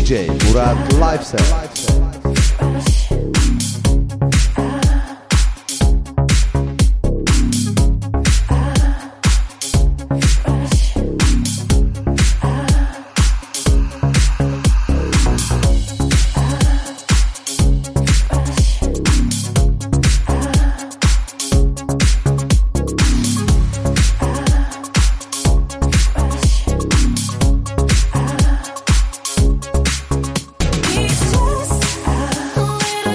DJ Murat Liveset. It's just a little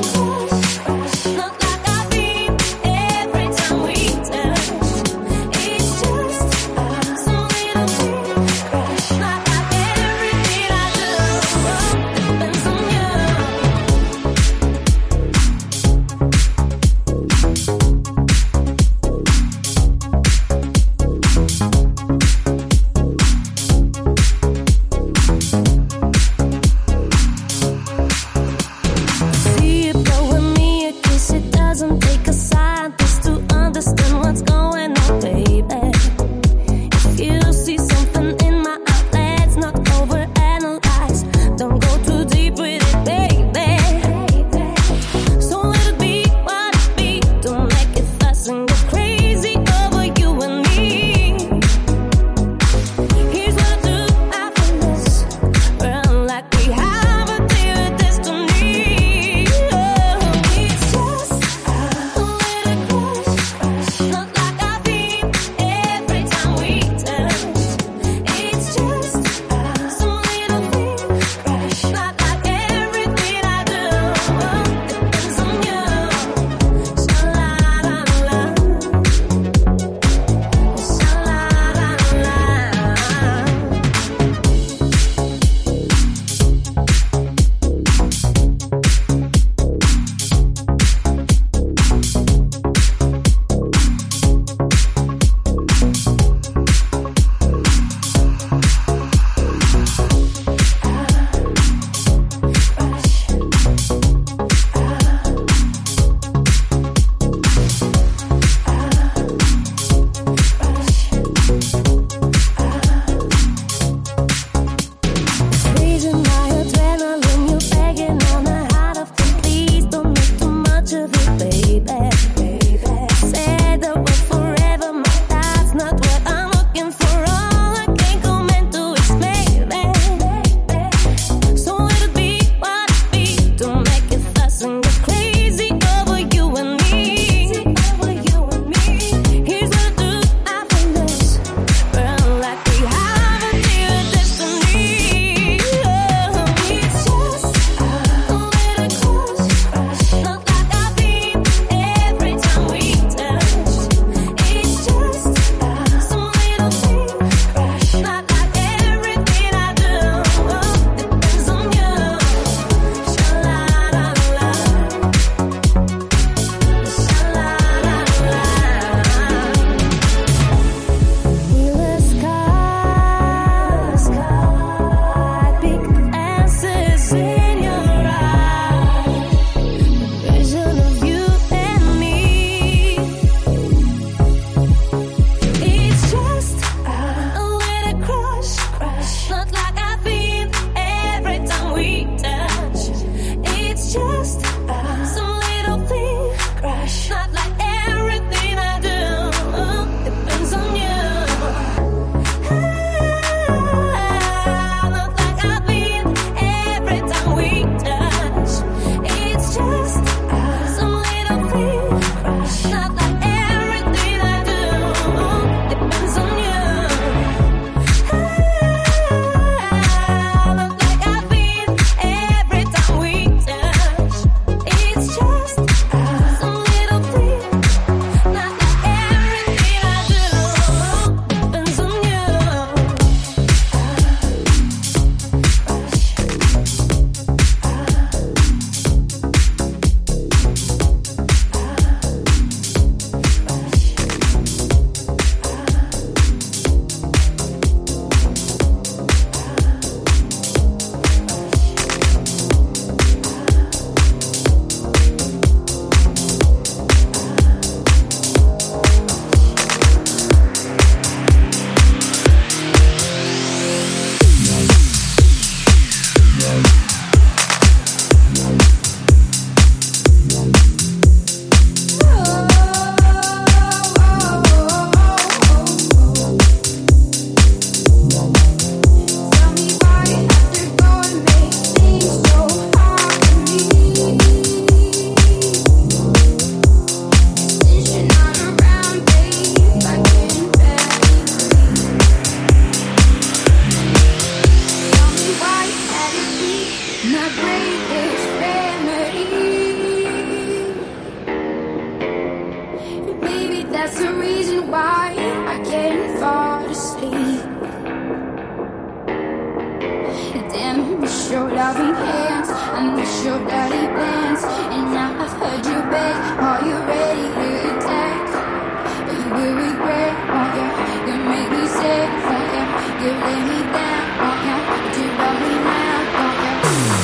your loving hands, I miss your dirty plans. And now I've heard you beg, are you ready to attack? But you will regret, won't ya? You make me sick, won't ya? You lay me down, won't ya? But you love me now, won't ya?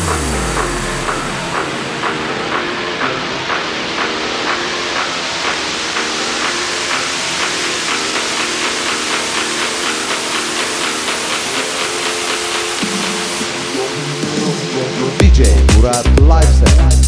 DJ Murat Live Set.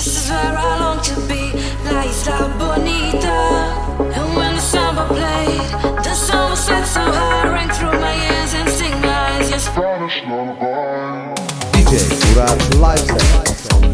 is where I long to be, La Isla Bonita. And when the samba played, the sun was set so high, rang through my ears and sting my eyes. Your Spanish lullaby. DJ Murat Live Set.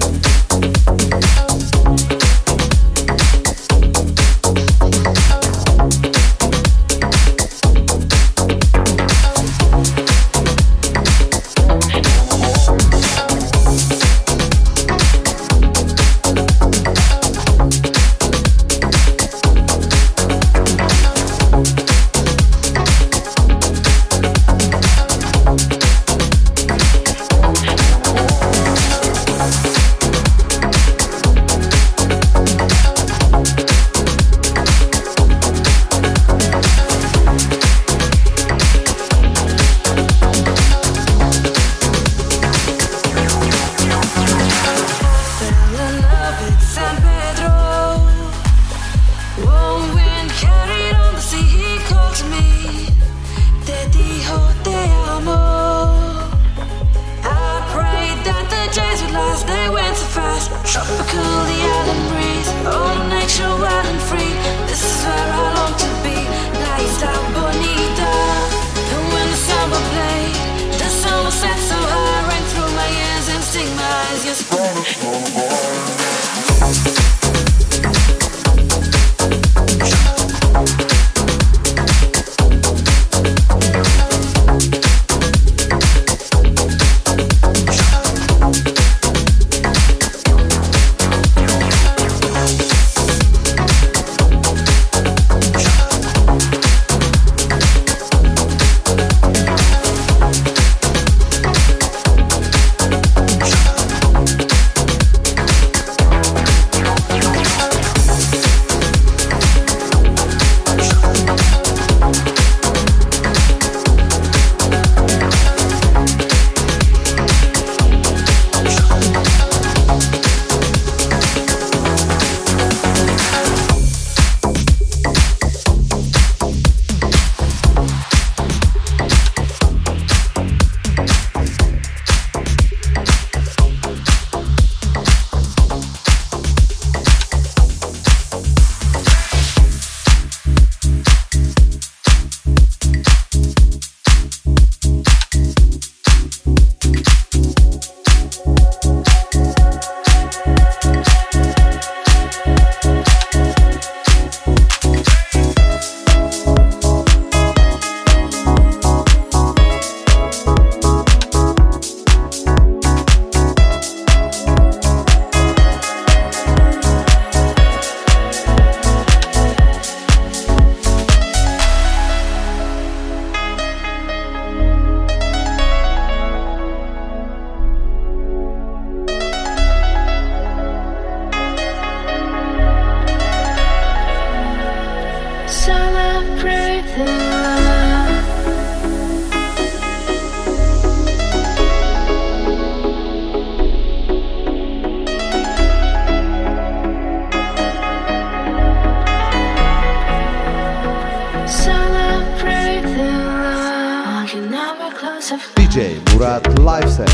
DJ Murat Live Set.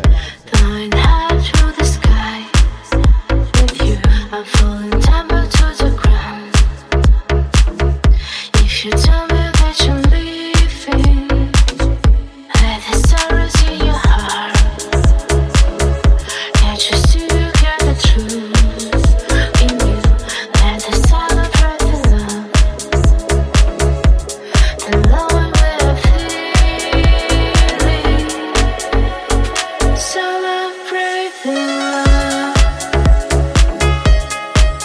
Flying high through the sky. With you, I'm falling down to the ground. If you tell me that you're leaving, let the sorrows in your heart. Can't you see you get the truth in you? Let us celebrate the love we're feeling. Celebrate the love.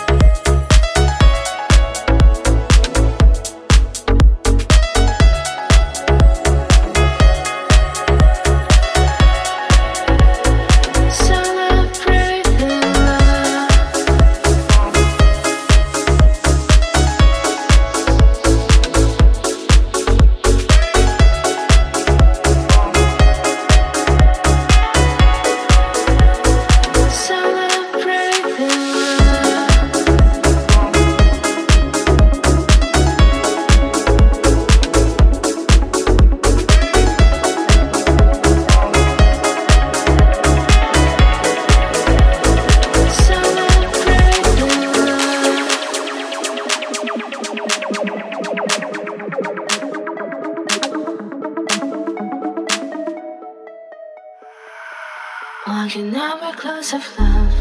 Walking every close of love,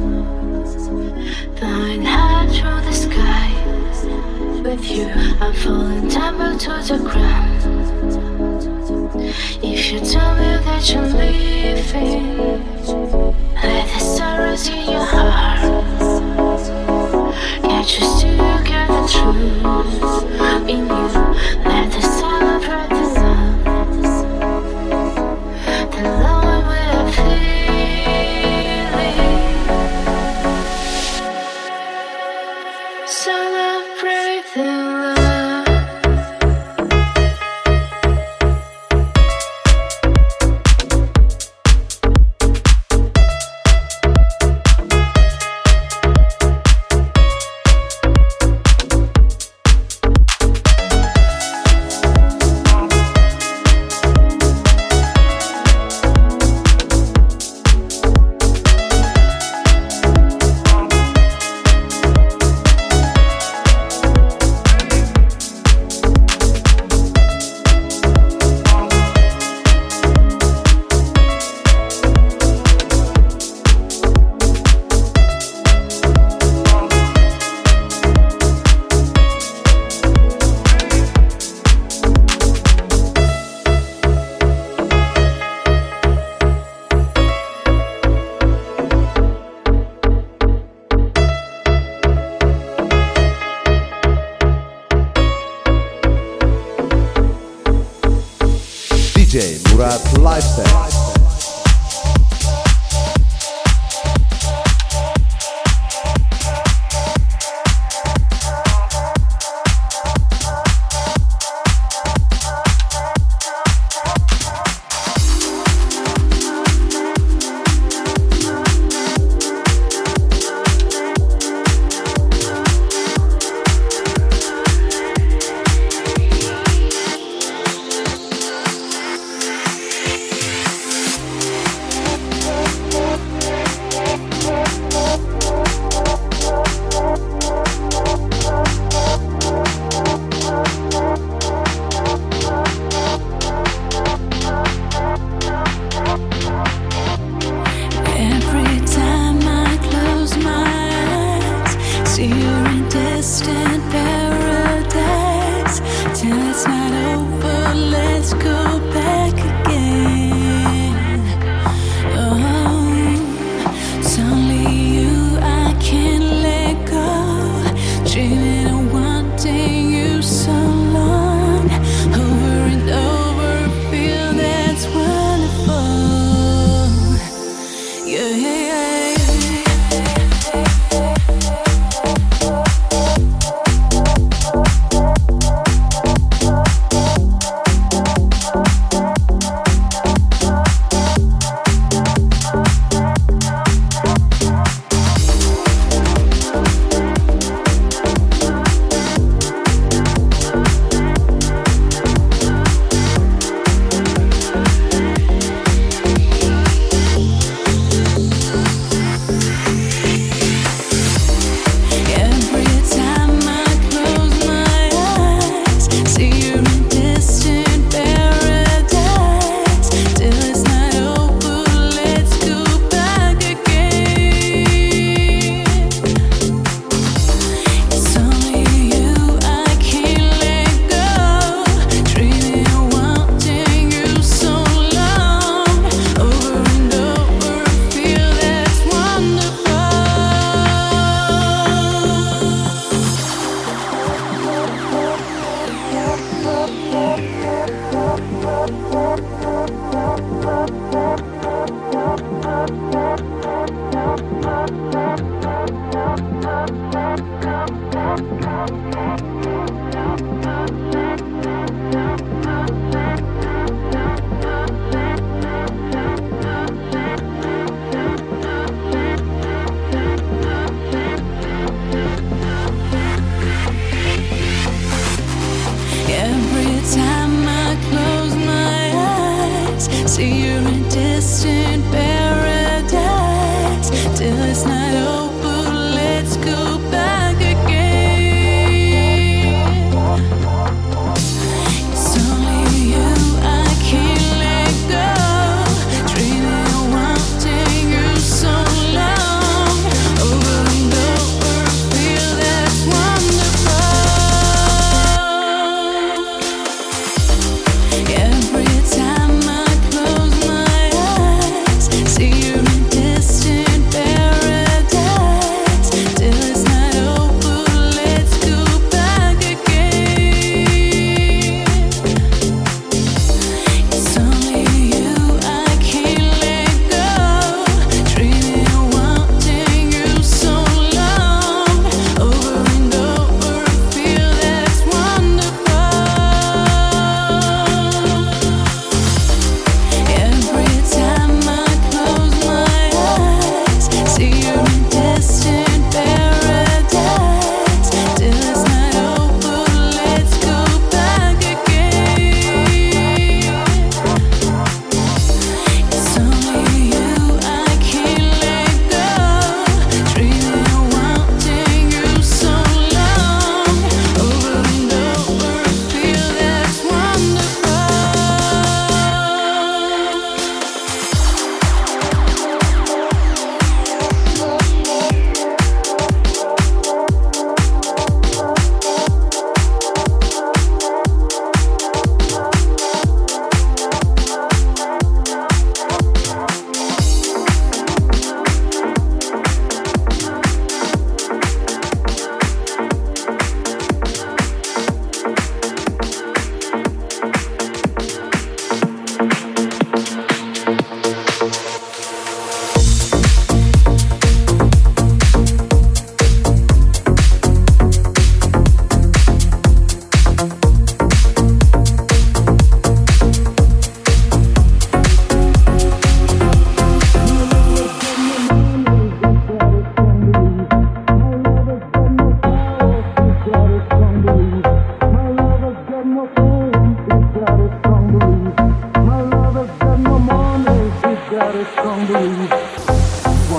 flying high through the sky. With you, I'm falling down to the ground. If you tell me that you're leaving, let the sorrows in your heart. Can't you still get the truth in you? Let us celebrate the love we are feeling. Celebrate the love. DJ Murat Lifestyle.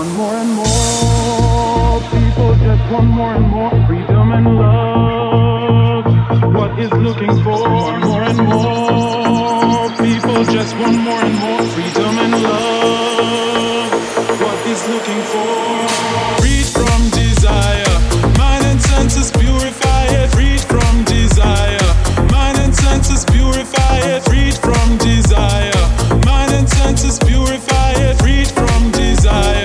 Want more and more people just want more and more freedom and love. What is looking for? Want more and more people just want more and more freedom and love. What is looking for? Freed from desire, mind and senses purify it. Freed from desire, mind and senses purify it. Freed from desire, mind and senses purify it. Freed from desire.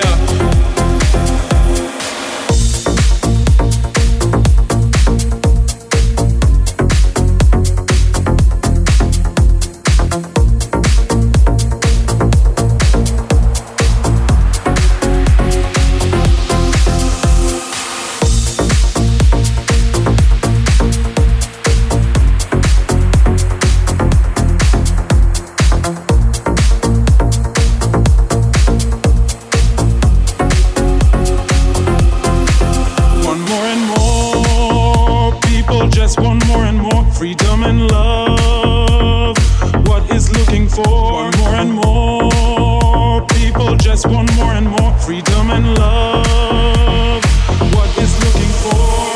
Freedom and love, what is looking for? Want more and more people just want more and more freedom and love, what is looking for?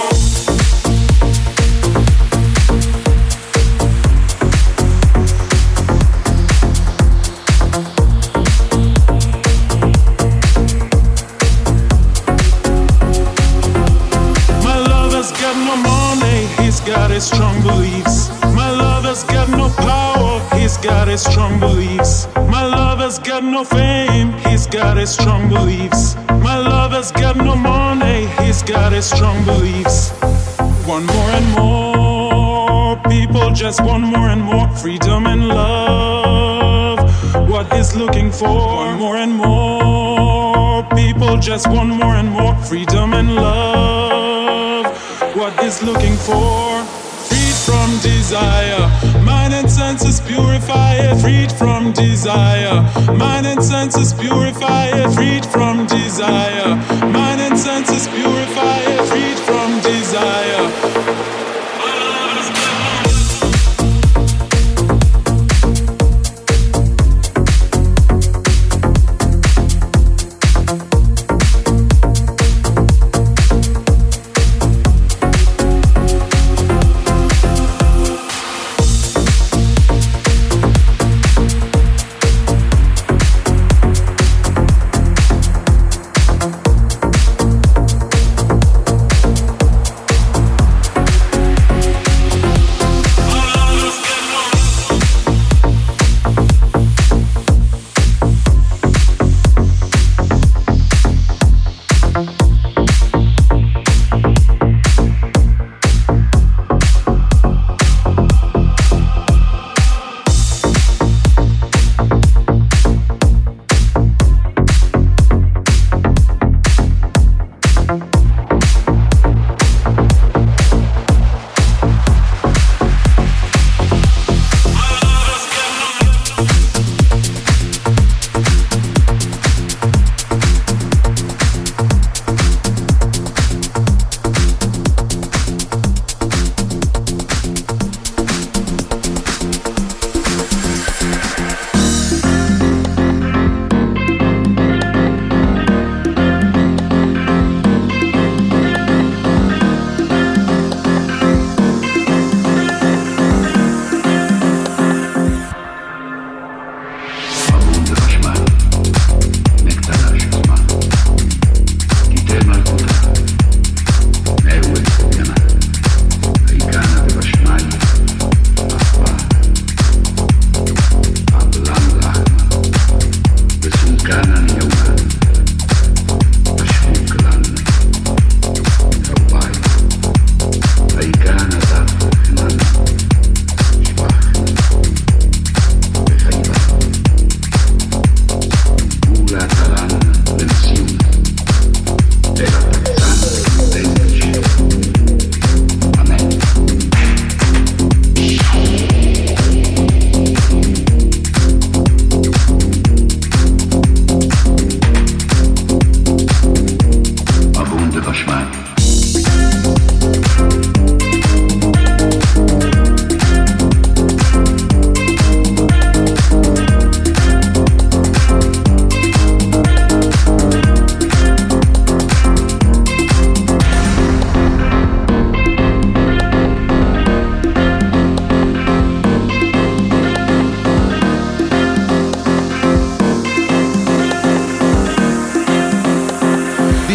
My lover's got no money, he's got his strong beliefs. My lover's got no power, he's got his strong beliefs. My lover's got no fame, he's got his strong beliefs. My lover's got no money, he's got his strong beliefs. Want more and more people just want more and more freedom and love. What is looking for? Want more and more people just want more and more freedom and love. What is looking for? Freed from desire, mind and senses purify it. Freed from desire, mind and senses purify it. Freed from desire, mind and senses purify it. Freed from desire.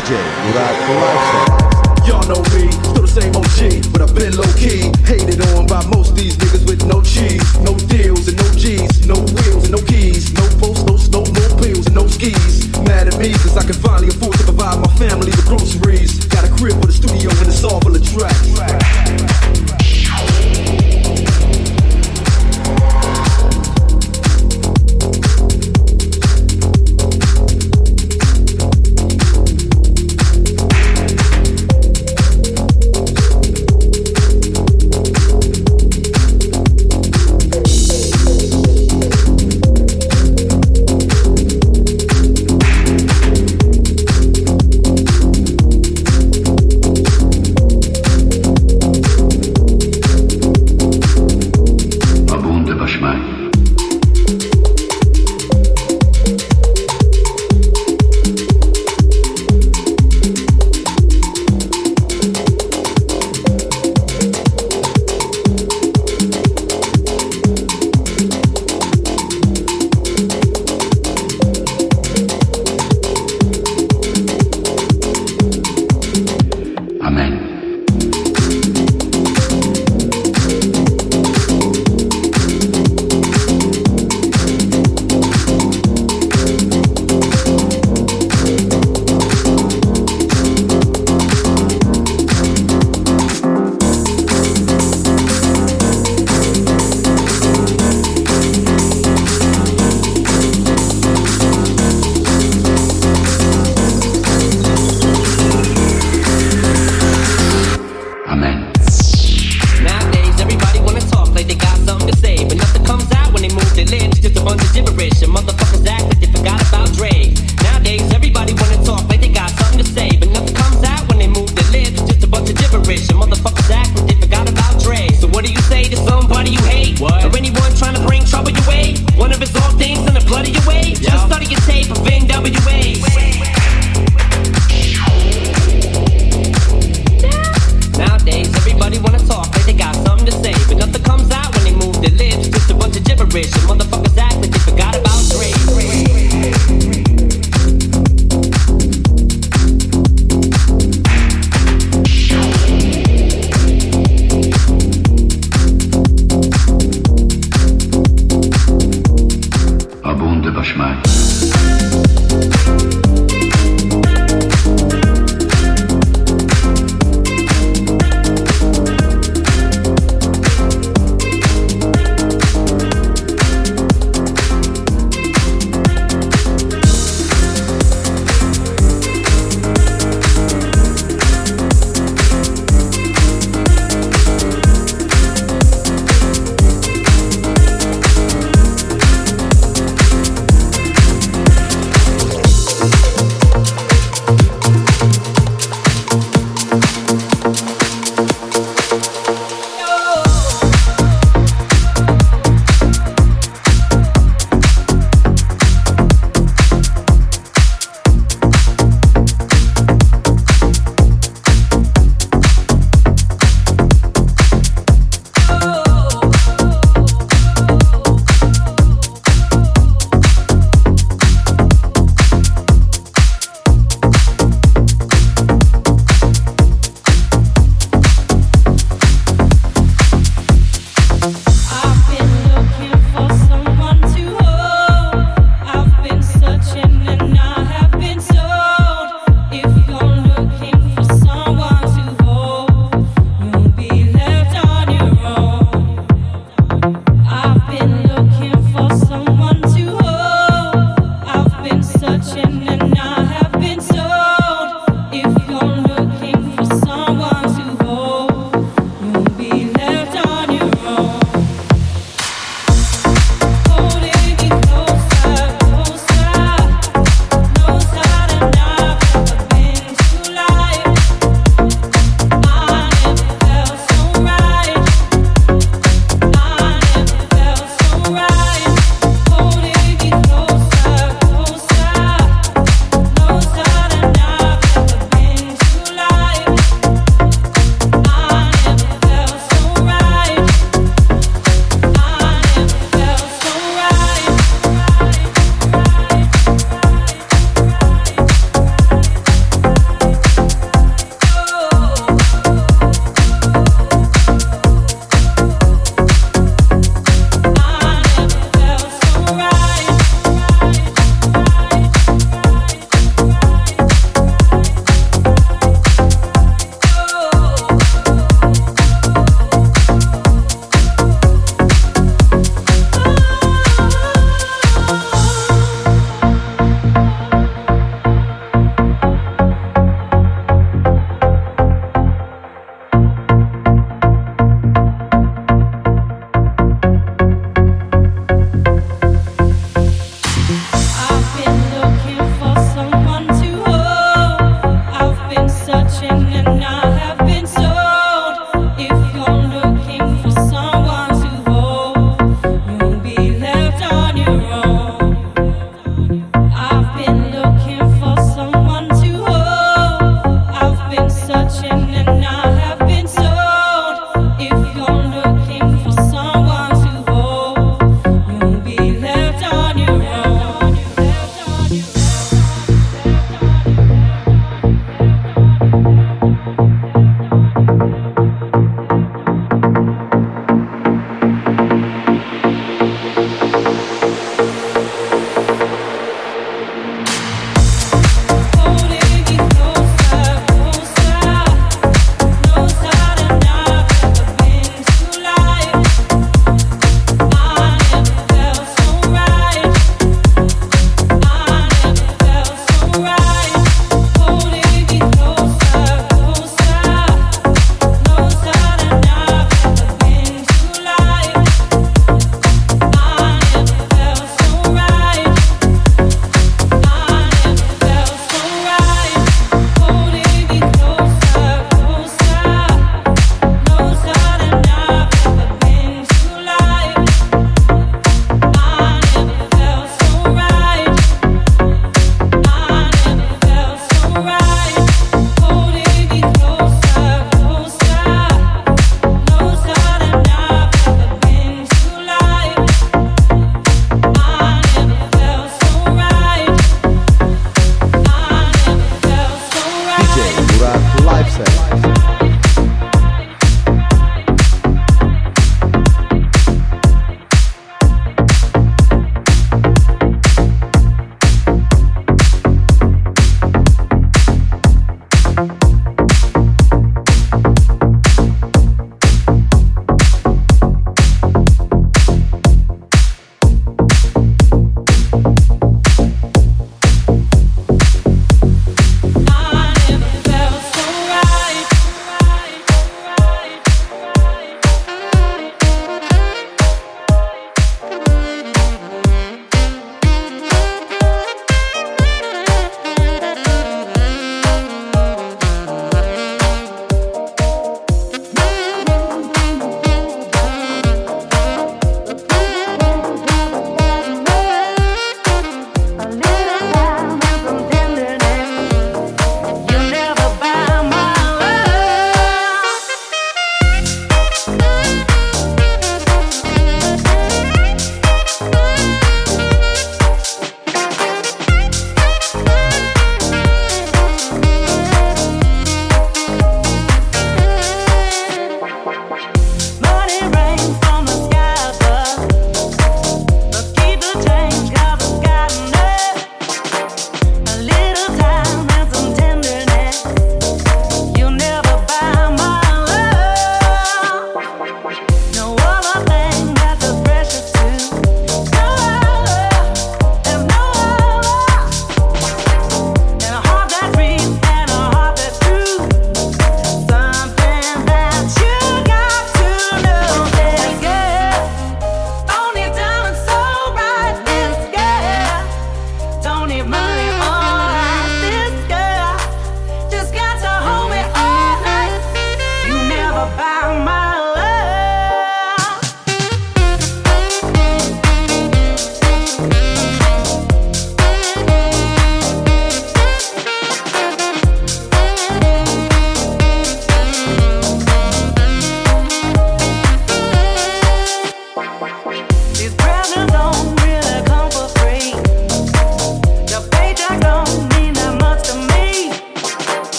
DJ Murat the Lifestyle. Y'all know me, still the same OG, but I've been low-key. Hated on by most of these niggas with no cheese. No deals and no G's, no wheels and no keys. No posts, no snow, no pills and no skis. Mad at me cause I can finally afford to provide my family with groceries. Got a crib with a studio and it's all full of tracks.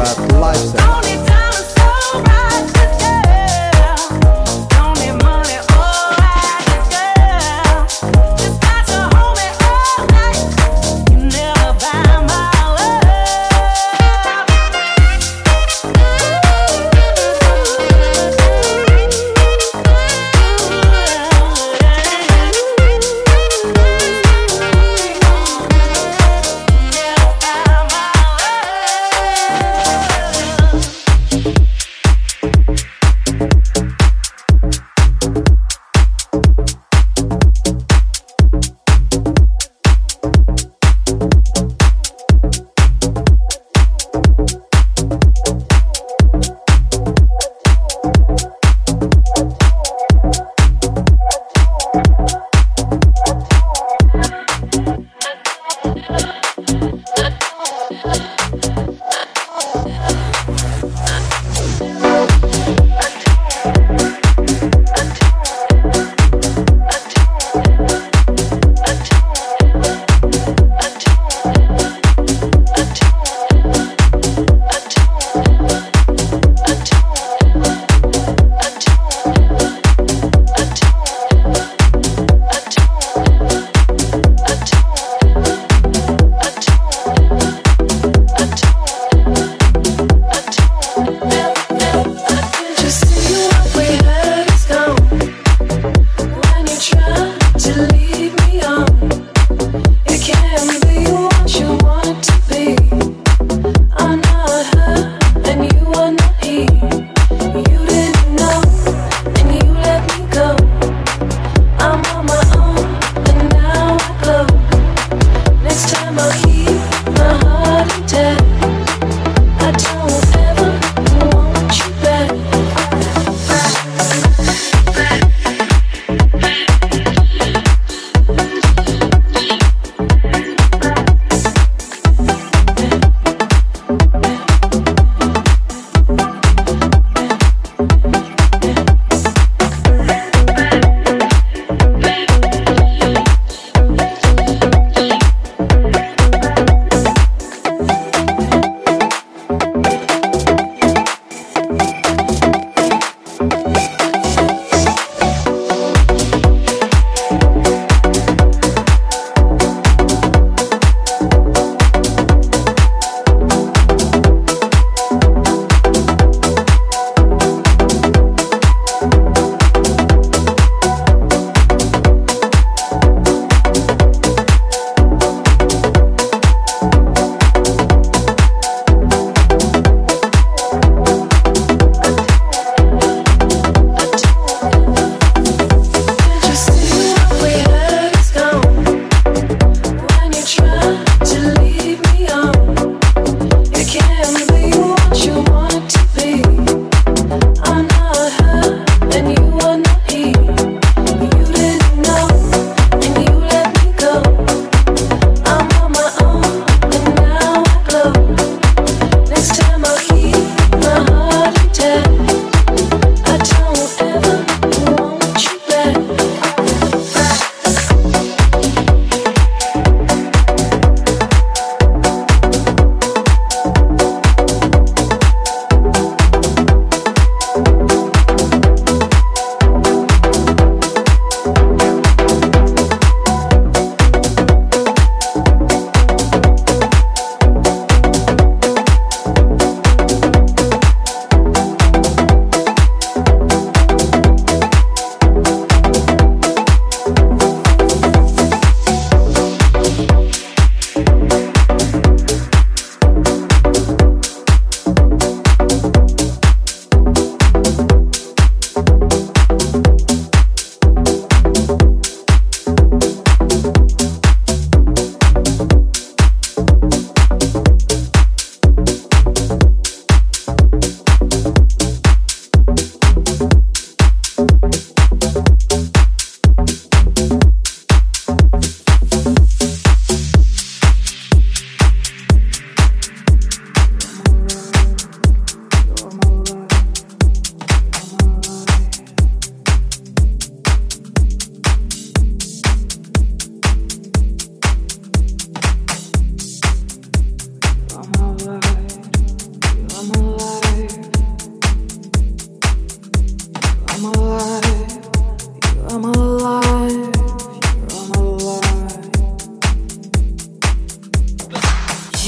Murat Lifestyle.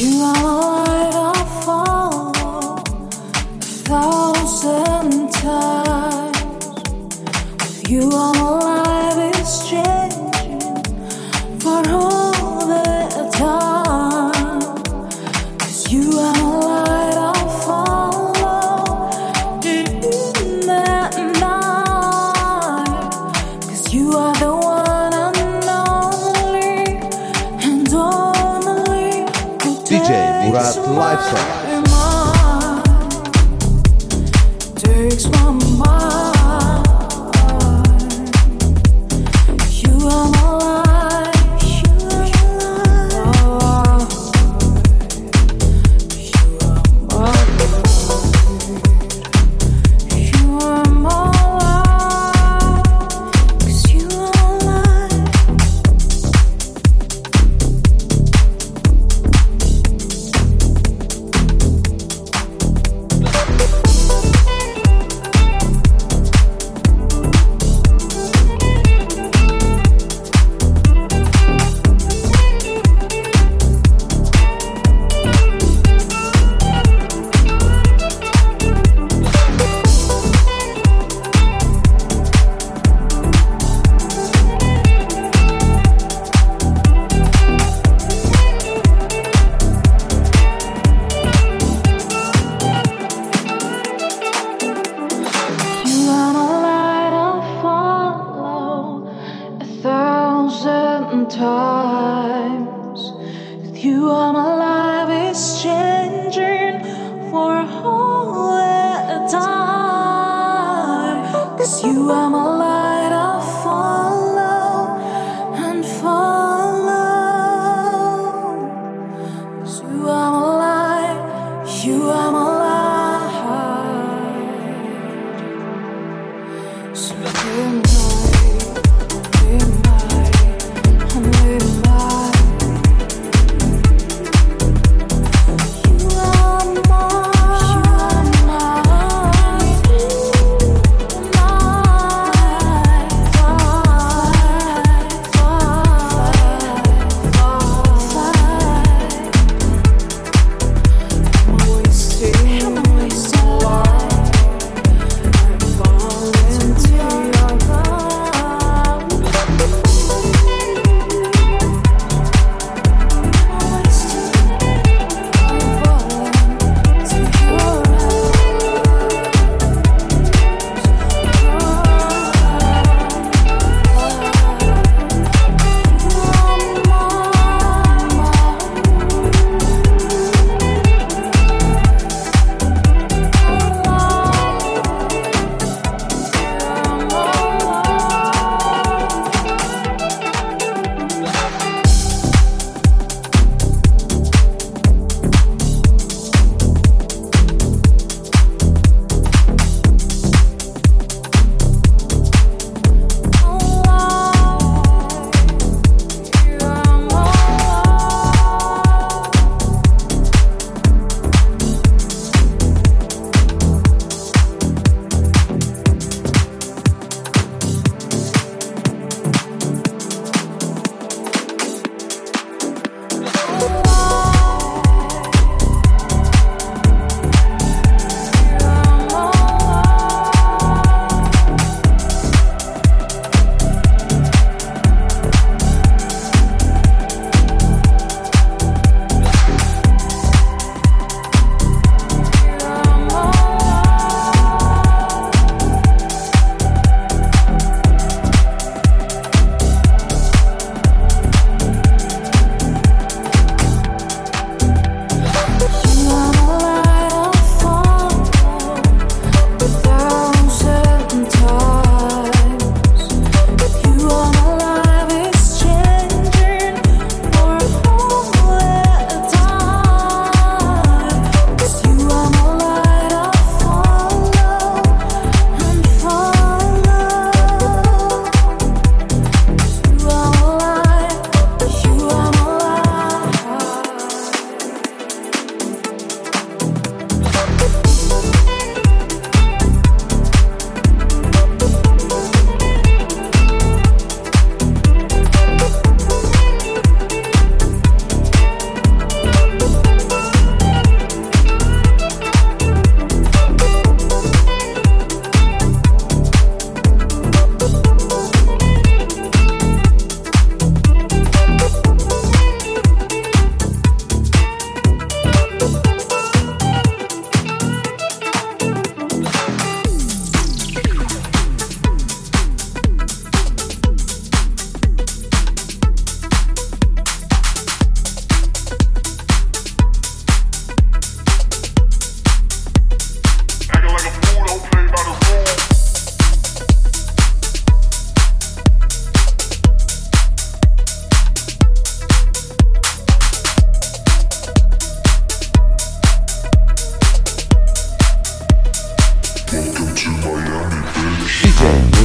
Wasted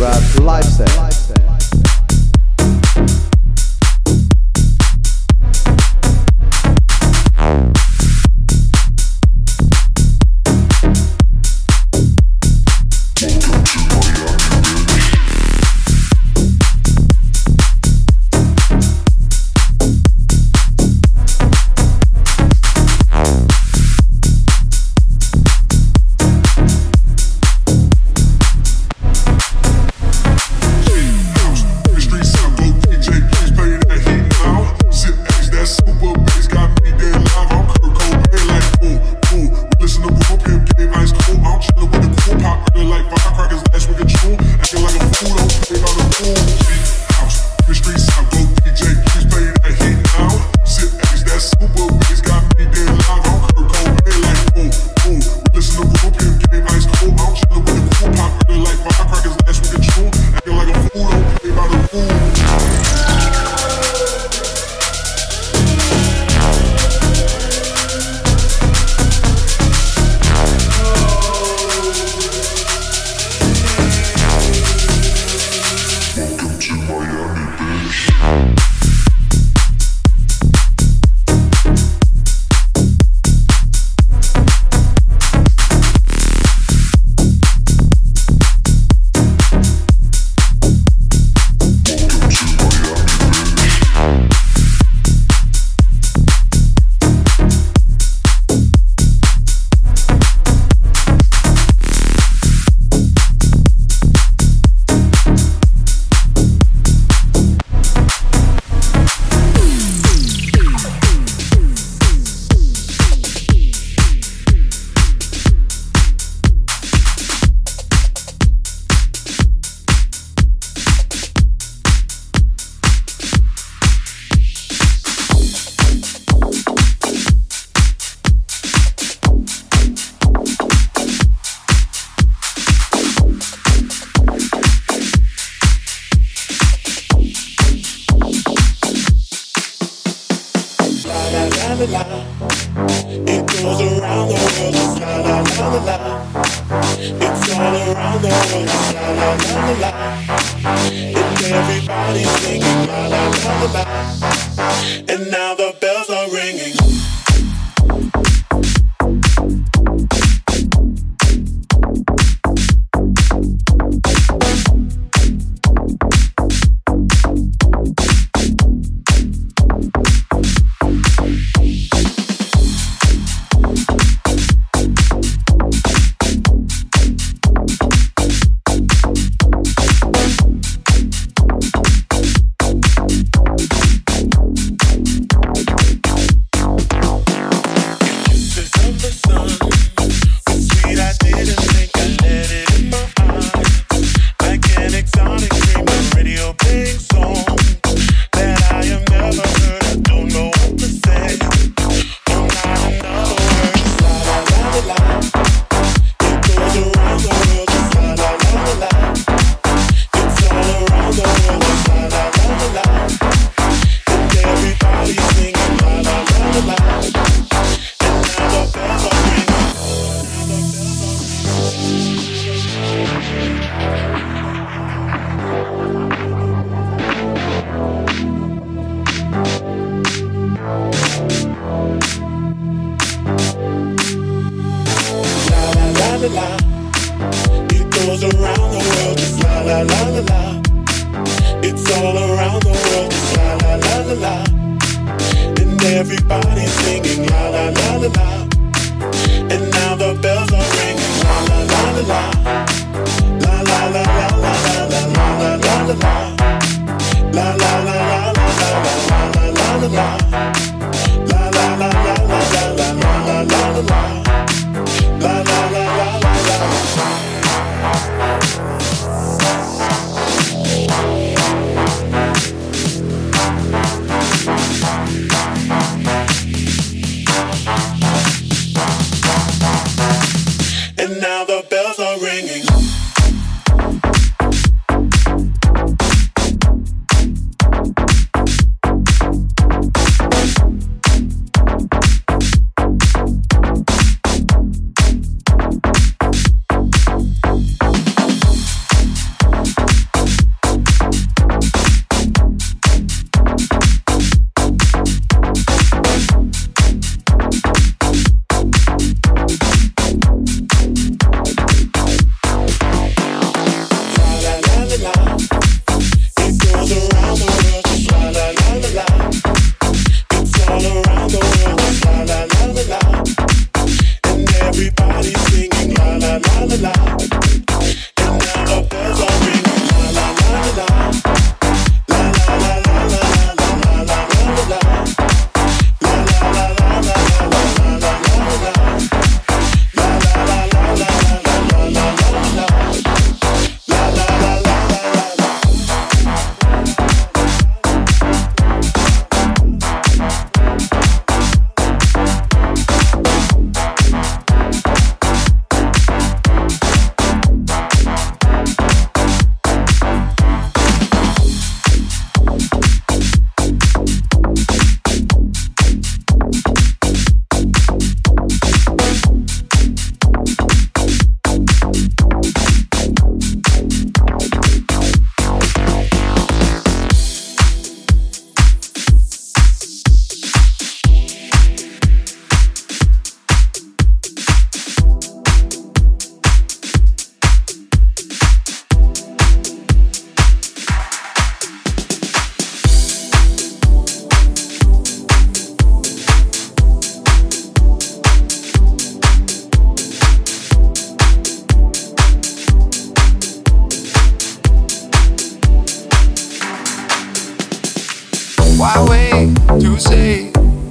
Murat Lifestyle.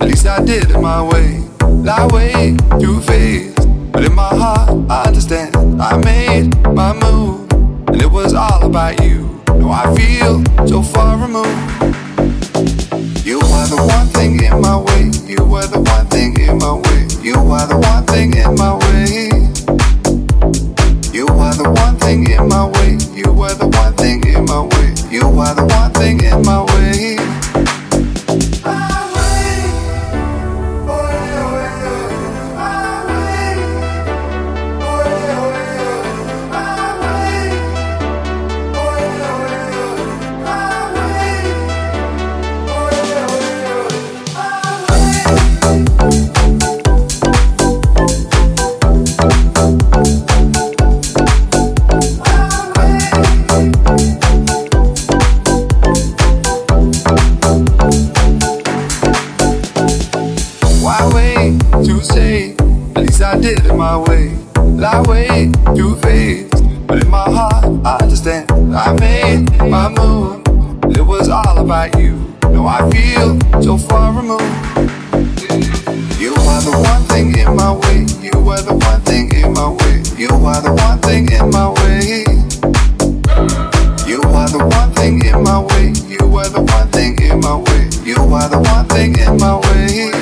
least I did it my way. That way, through phase. But in my heart, I understand. I made my move, and it was all about you. Now I feel so far removed. You were the one thing in my way. You were the one thing in my way. You were the one thing in my way. You were the one thing in my way. You were the one thing in my way. You were the one thing in my way. I did it my way, that way, through phase. But in my heart, I understand. I made my move, it was all about you. Now I feel so far removed. You are the one thing in my way. You were the one thing in my way. You are the one thing in my way. You are the one thing in my way. You were the one thing in my way. You are the one thing in my way.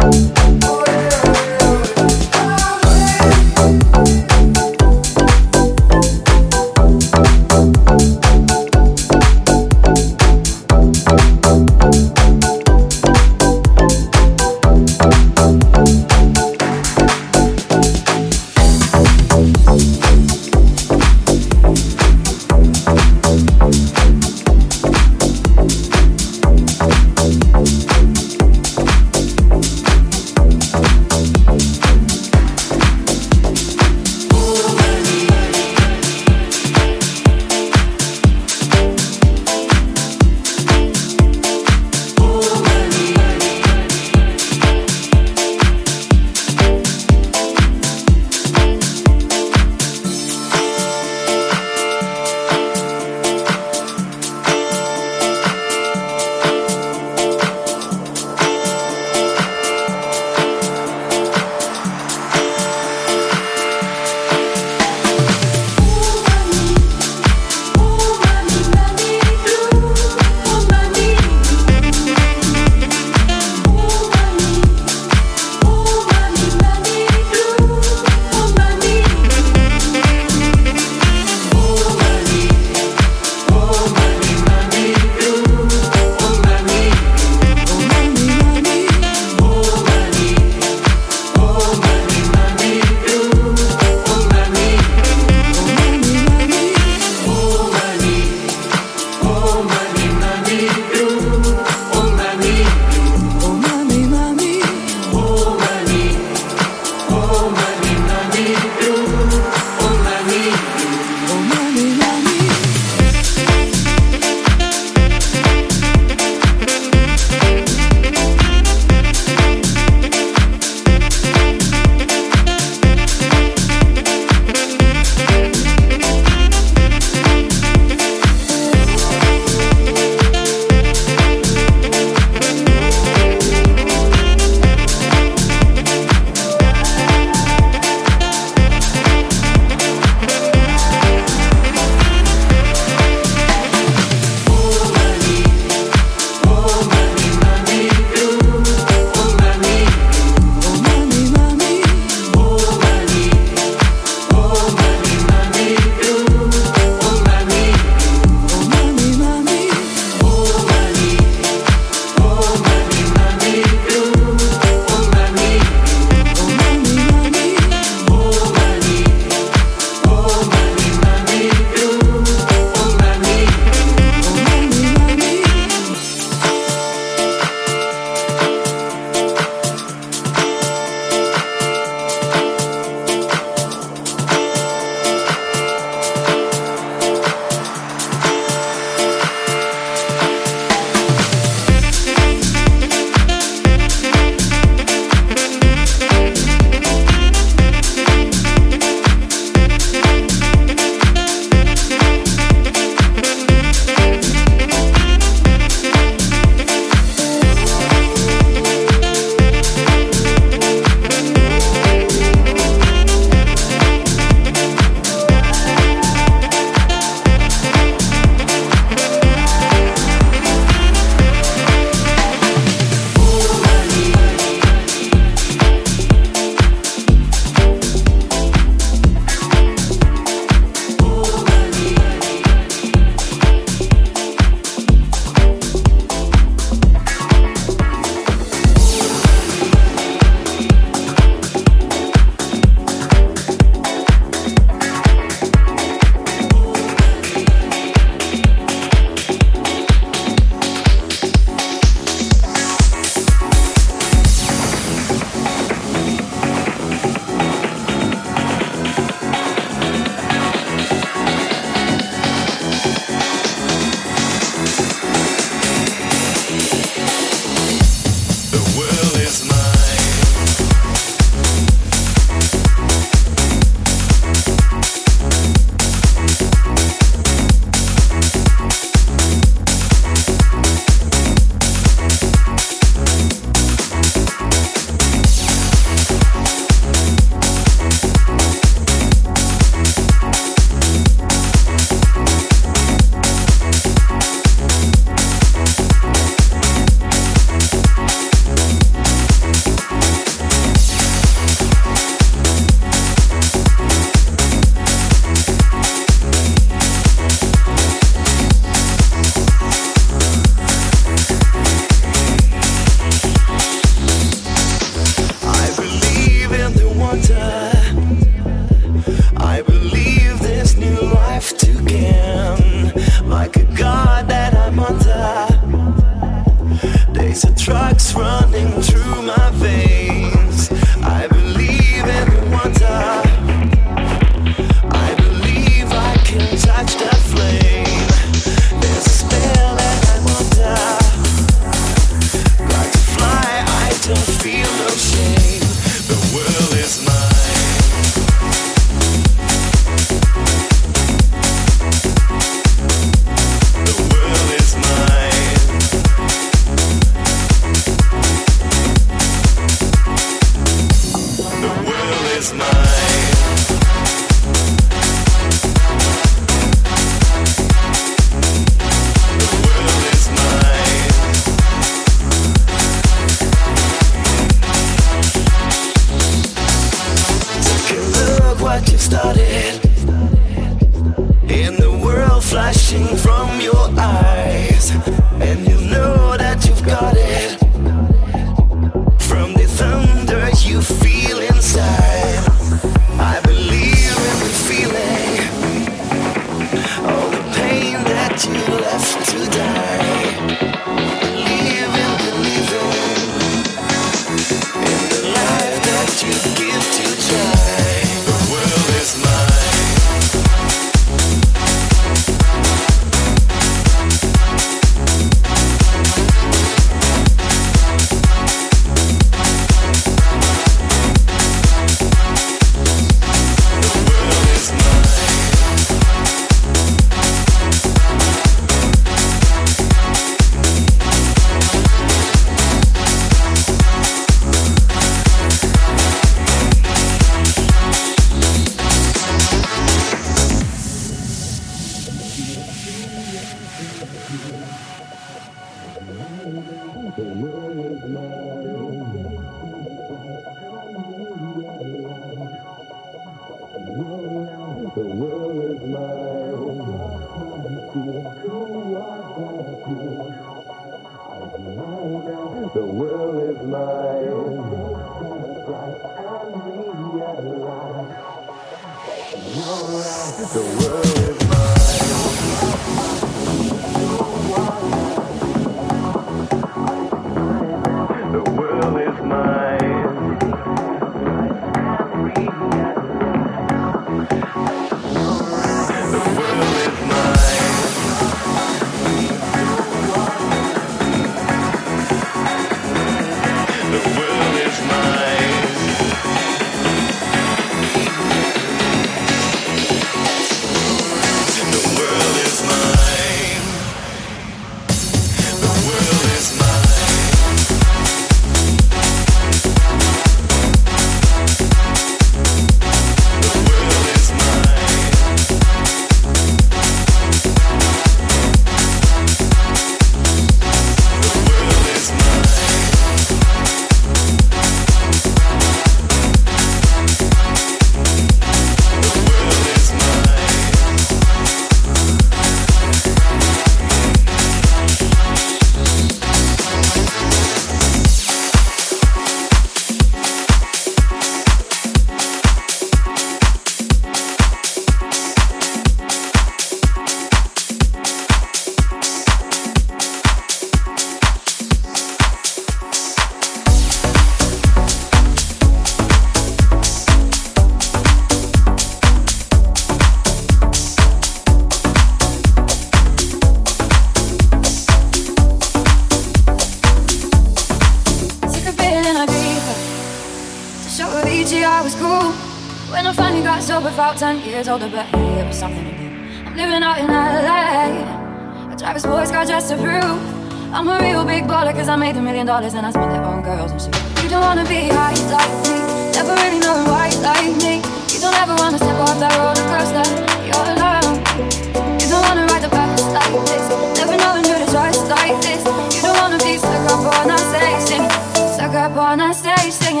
About 10 years older, but hey, it was something to do. I'm living out in LA. I drive a sports car just to prove I'm a real big baller, cause I made $1 million and I spent it on girls and shit. You don't wanna be high like me, never really knowing why like me. You don't ever wanna step off that roller coaster, you're alone. You don't wanna ride the bus like this, never knowing who to trust like this. You don't wanna be stuck up on a stage singing, stuck up on a stage singing.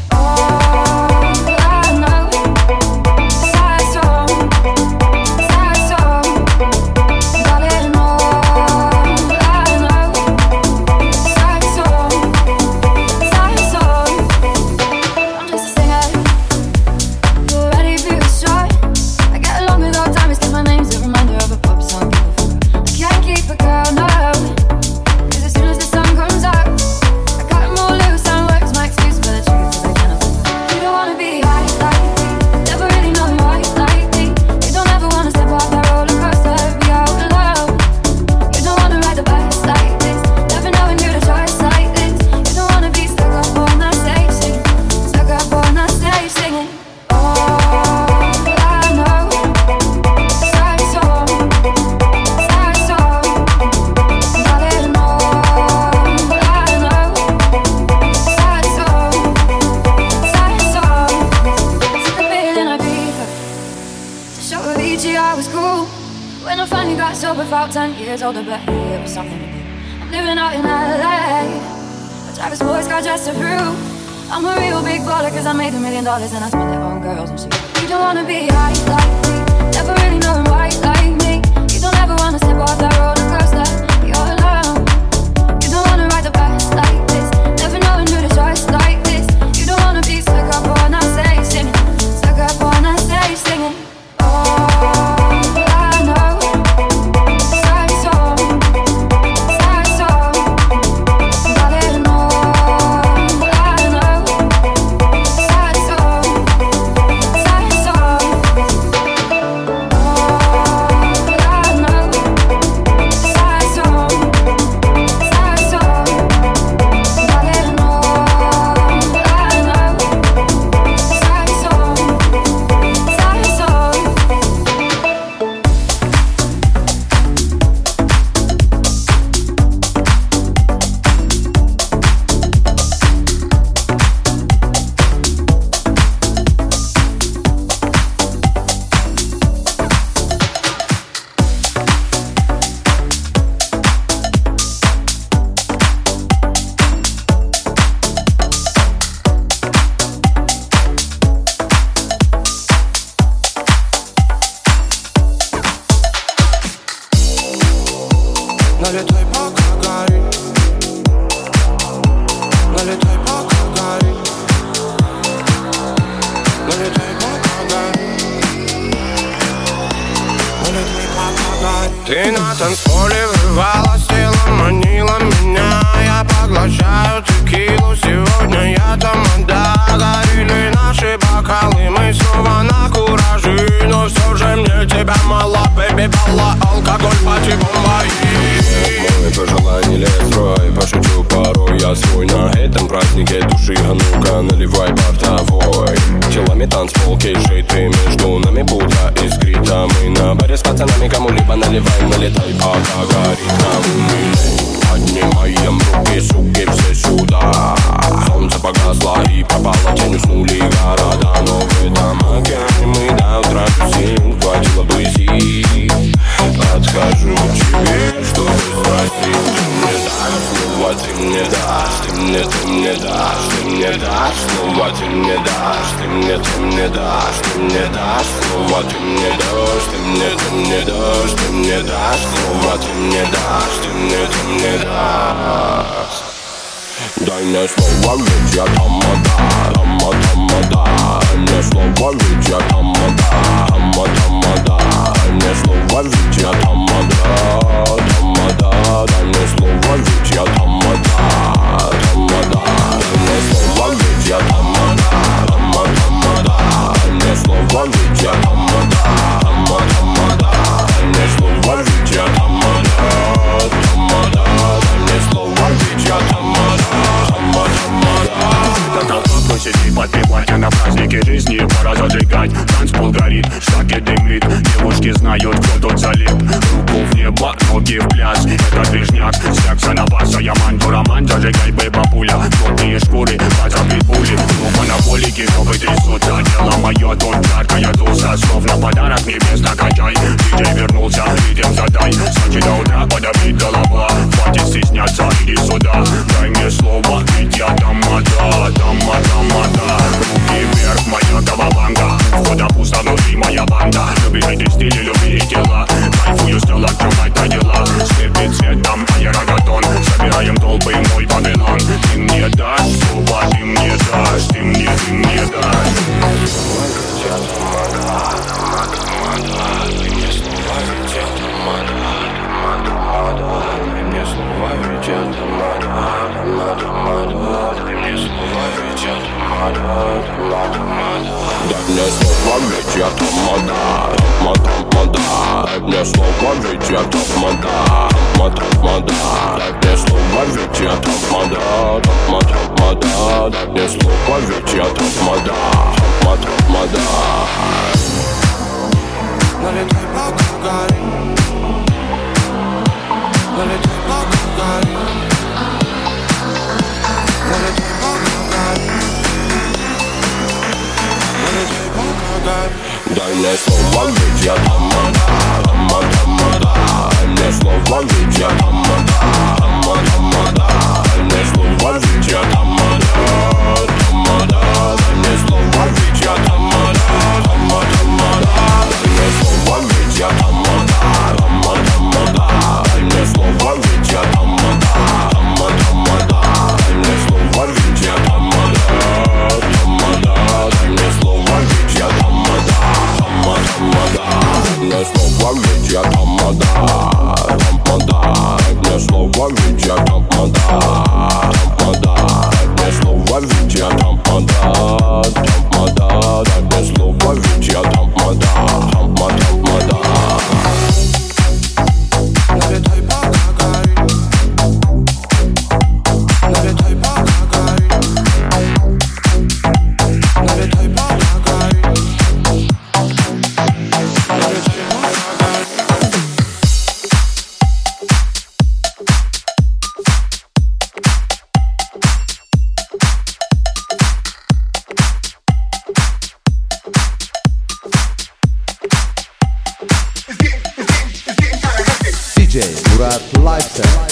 All I know, I finally got sober, felt 10 years older, but hey, it was something to do. I'm living out in LA, but drive a sports car just to prove I'm a real big baller, cause I made $1 million and I spent it on girls and shit. You don't wanna be high like me, never really knowing why like me. You don't ever wanna step off that roller coaster, you're alone. You don't wanna ride the bus like this, never knowing who to trust like this. You don't wanna be stuck up on that stage singing, stuck up on that stage singing. Налетай, пока горит. Налетай, пока горит. Налетай, пока горит. Налетай, пока горит. Ты на танцполе врывалась, телом манила меня. Я поглощаю текилу, сегодня я тамада. Горели наши бокалы, мы снова на кураже. Но все же мне тебя мало, бэби, балла. Алкоголь, пати, бомбай. Мой пожелание лет строй, пошучу порой я свой. На этом празднике души, а ну-ка наливай бортовой. Телами танцпол, кейшей, ты между нами будто искрит. А мы на баре с пацанами кому-либо наливаем. Налетай, пока горит камин. Поднимаем руки, суки, все сюда. Солнце погасло и пропало, тень уснули города. Но в этом океане мы до утра тусим. Хватило близи, подхожу к тебе, чтобы спросить. Ты мне дашь, ты мне дашь, ты мне дашь, ты мне дашь. Снова ты мне дашь, ты мне дашь, ты мне дашь. Снова ты мне дашь, ты мне дашь, ты мне дашь. Снова ты мне дашь, ты мне дашь. Дай мне слово, ведь я тамада, тамада. Дай мне слово, ведь я тамада, тамада. Дай мне слово, ведь я тамада, тамада. Дай мне слово, ведь я тамада, тамада. Дай мне слово, ведь я тамада, тамада. Дай мне слово, ведь я тамада, тамада. Дай мне слово, ведь я тамада, тамада. Дай мне слово, ведь я тамада. Сиди под платье на празднике жизни, пора зажигать. Танцпол горит, штаки дымит. Девушки знают, кто тут залип. Руку в небо, ноги в пляс. Это движняк, секса на баса. Я манду роман, зажигай, бэйба-пуля. Плотные шкуры, позабить пули. Ну, монополики, чтобы трясутся. Дело мое, тут жаркая туса. Словно подарок небес накачай. Диджей вернулся, ритм задай. С ночи до утра подобрит голова. Хватит стесняться, иди сюда. Дай мне слово, ведь я тамада, тамада. Руки вверх, моя голованга. Входа пусто, внутри моя банда. Любите стили, любите тела. Кайфую, стал открывать на дела. Слепит цветом, аэрогатон. Собираем толпы, мой Вавилон. Ты мне дашь слово, ты мне дашь. Ты мне дашь. Я тамада, тамада. Ты мне слова, ведь я тамада, тамада. Ты мне слова, ведь я тамада, тамада. Ты мне слова, ведь я тамада, тамада. Дай мне слово, ведь я тамада, тамада. Дай мне слово, ведь я тамада, тамада. Дай мне слово, ведь я тамада, тамада. Дай мне слово, ведь я тамада, тамада. Налетай, пока горит. Налетай, пока горит. Налетай, пока горит. Налетай, пока горит. Дай мне слово, ведь я тамада, тамада. не слово ведь я тамада, тамада, не слово ведь я тамада, тамада, не слово ведь я тамада, тамада, не слово ведь я тамада, тамада, не слово ведь я тамада, тамада, не слово ведь я тамада, тамада, не слово ведь я тамада, тамада, не слово ведь я тамада, тамада, не слово ведь я тамада, тамада, не слово ведь я тамада, тамада, не слово ведь я тамада, тамада. Налетай по Гагарину, налетай по Гагарину, налетай по Гагарину, налетай по Гагарину. DJ Murat Lifestyle.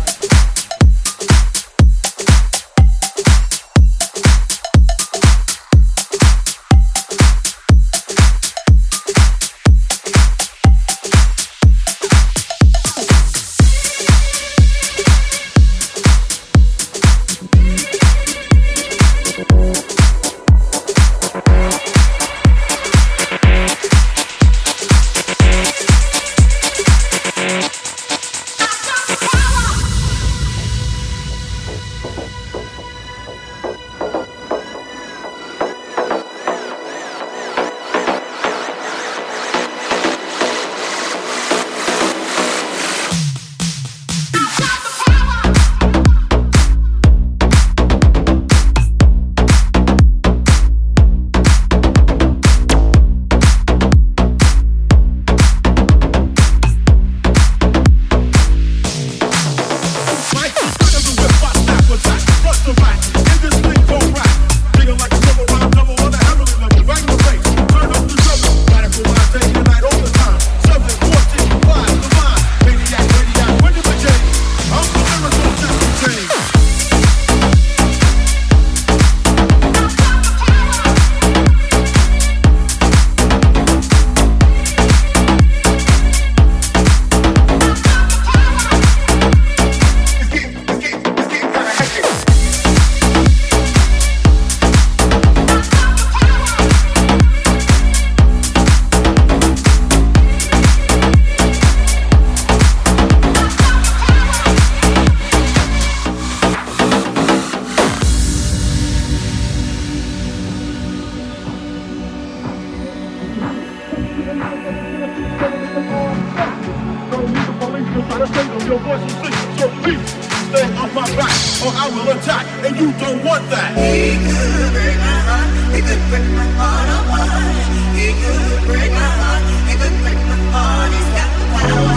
Your voice is sick, so please stay off my back, or I will attack, and you don't want that. He could break my heart, he could break my heart apart. He could break my heart, he could break my heart. He's got the power.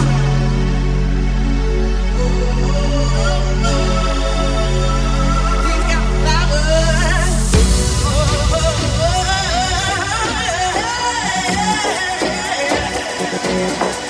He's got the power.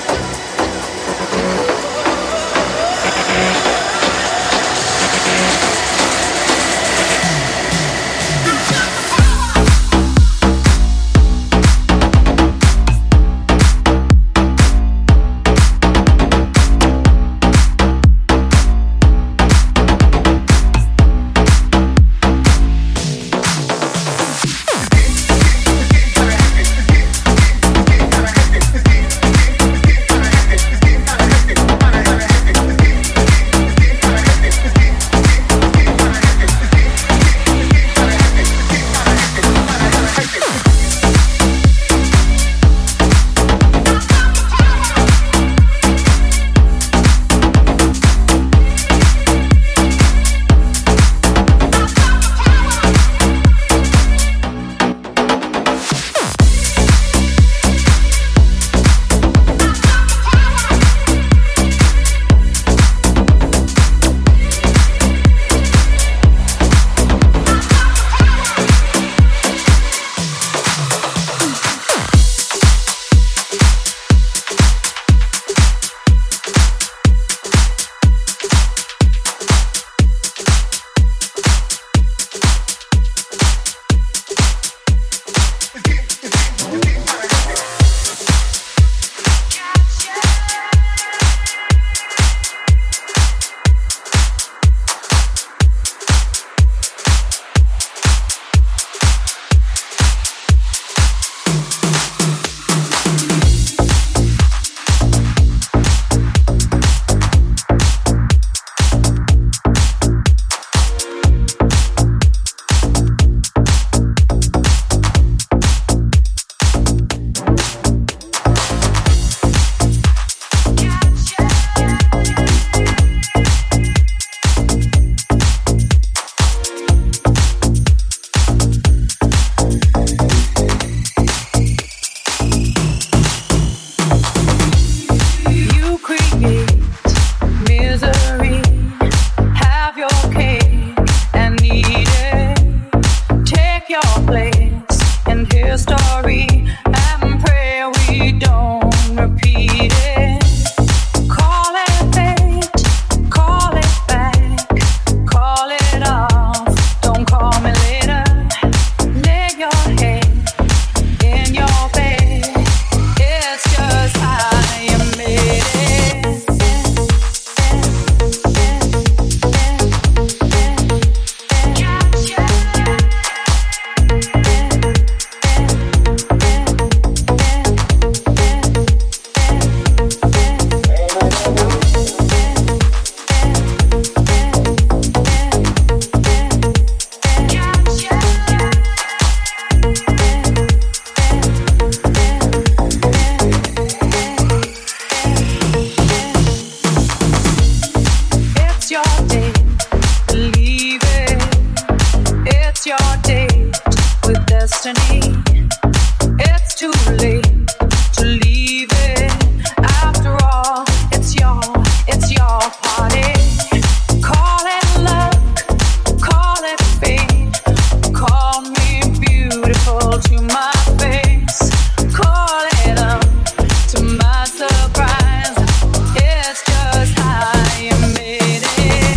destiny. It's too late to leave it. After all, it's your party. Call it luck, call it fate. Call me beautiful to my face. Call it up to my surprise. It's just how you made it.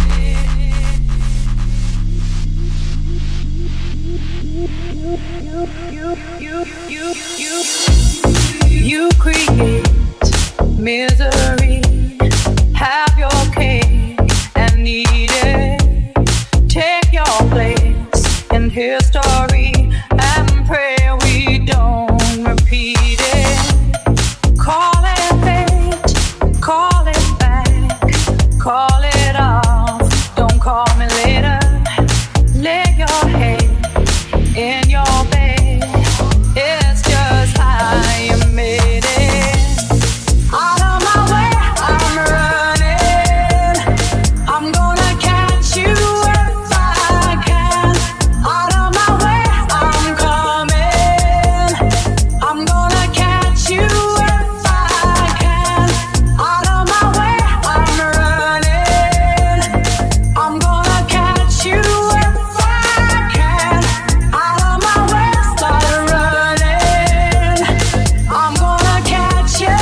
You create misery. Have your cake and eat it. Take your place in history and pray we don't repeat it. Call it fate, call it back, call it off. Don't call me later. Lay your head in your bed. It's just how you made it. Out of my way, I'm running. I'm gonna catch you if I can. Out of my way, I'm coming. I'm gonna catch you if I can. Out of my way, I'm running. I'm gonna catch you if I can. Out of my way, start running. I'm gonna catch you.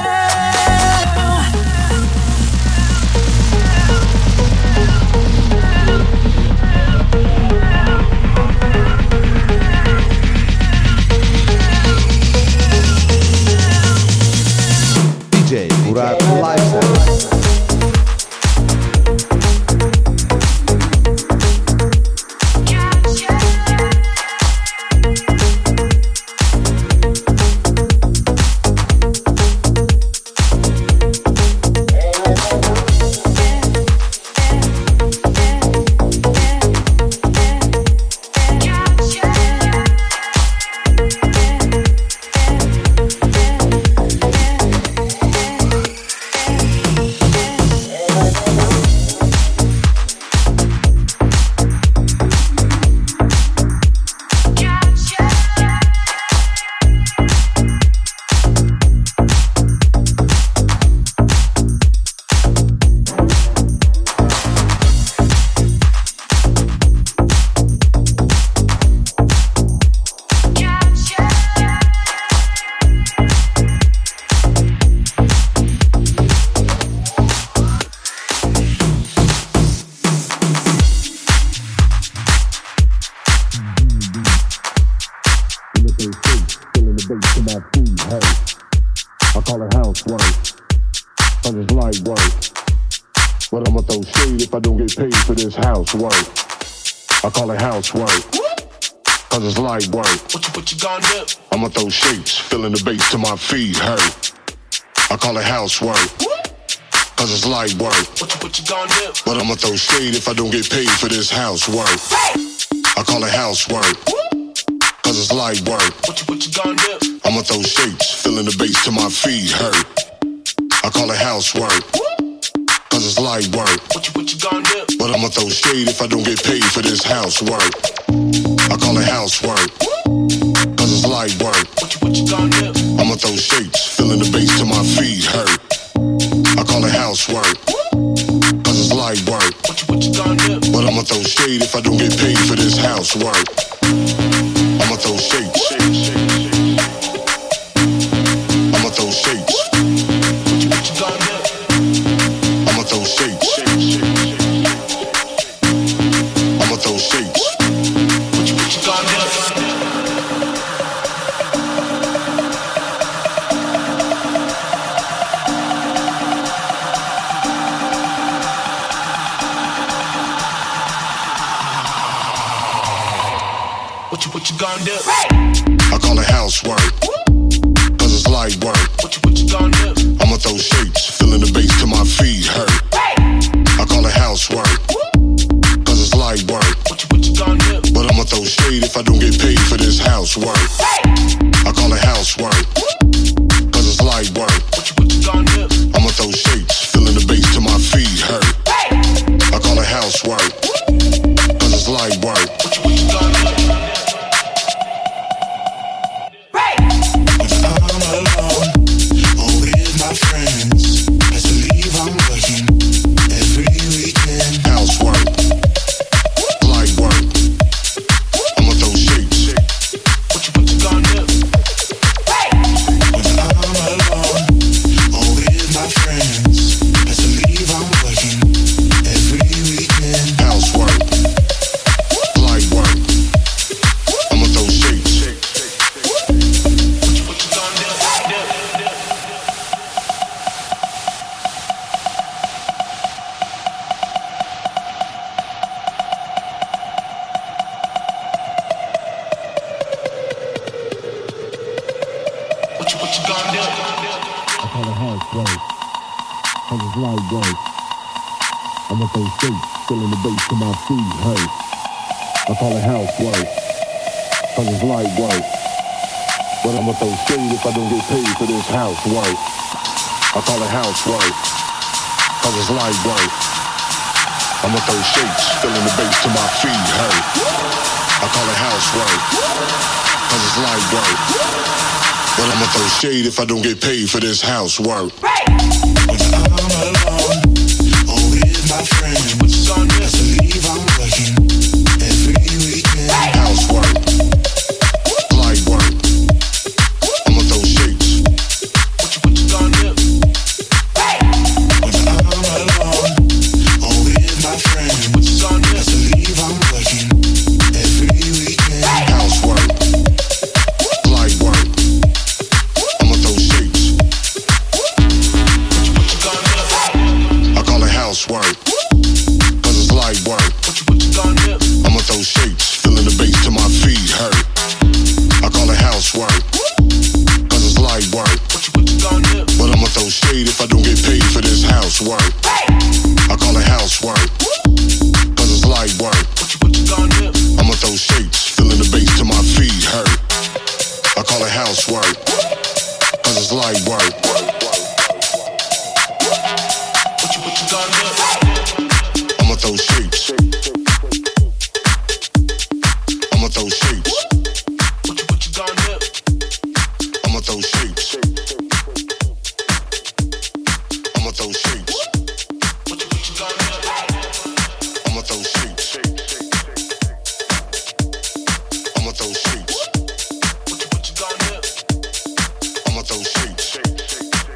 DJ Murat Lifestyle. I call it housework, cause it's light work. But I'ma throw shade if I don't get paid for this housework. I call it housework, cause it's light work. What you gonna do? I'ma throw shapes, feeling the bass till my feet hurt. I call it housework, cause it's light work. What you gonna do? But I'ma throw shade if I don't get paid for this housework. I call it housework, cause it's light work. What you gonna do? I'ma throw shapes, feeling the bass till my feet hurt. I call it housework, cause it's light work. What you gonna do? But I'ma throw shade if I don't get paid for this housework. I call it housework, cause it's light work. What you gonna do? I'ma throw shapes, feeling the bass till my feet hurt. I call it housework, cause it's light work. What you gonna do? But I'ma throw shade if I don't get paid for this housework. I'ma throw shapes. I'ma throw shapes. What you gonna do? I'ma throw shapes. I'ma throw shapes. What you gonna do? What you gonna do? I call it housework, cause it's light work. What you gonna do? I'ma throw shapes, feeling the bass till my feet hurt. I call it housework, cause it's light work. What you gonna do? But I'ma throw shade if I don't get paid for this housework. I call it housework, cause it's light work. What you gonna do? I'ma throw shapes, feeling the bass till my feet hurt. I call it housework, cause it's light work. What you gonna do? I call it housework, cause it's light work. I'ma throw shapes, filling the bass to my feet, hey. I call it housework, cause it's light work. But I'ma throw shade if I don't get paid for this housework. I call it housework, cause it's light work. I'ma throw shapes, filling the bass to my feet, hey. I call it housework, cause it's light work. But I'ma throw shade if I don't get paid for this housework. When I'm alone, or with my friends, I believe I'm working every weekend. Housework, light work. I'ma throw shapes. What you gonna do? When I'm alone, or with my friends, I believe I'm working every weekend. Housework, light work. I'ma throw shapes. What you gonna do? I call it housework, cause it's light work. What you gonna do? I'ma throw shapes, filling the bass to my feet hurt. I call it housework, cause it's light work. What you gonna do? But I'ma throw shade if I don't get paid for this housework. I call it housework, cause it's light work. What you gonna do? I'ma throw shapes, filling the bass to my feet hurt. I call it housework, cause it's light work. What you gonna do? I'ma throw shapes. I'ma throw shapes. What you gonna do? I'ma throw shapes. I'ma throw shapes. What you gonna do? I'ma throw shapes. I'ma throw shapes. What you gonna do? I'ma throw shapes.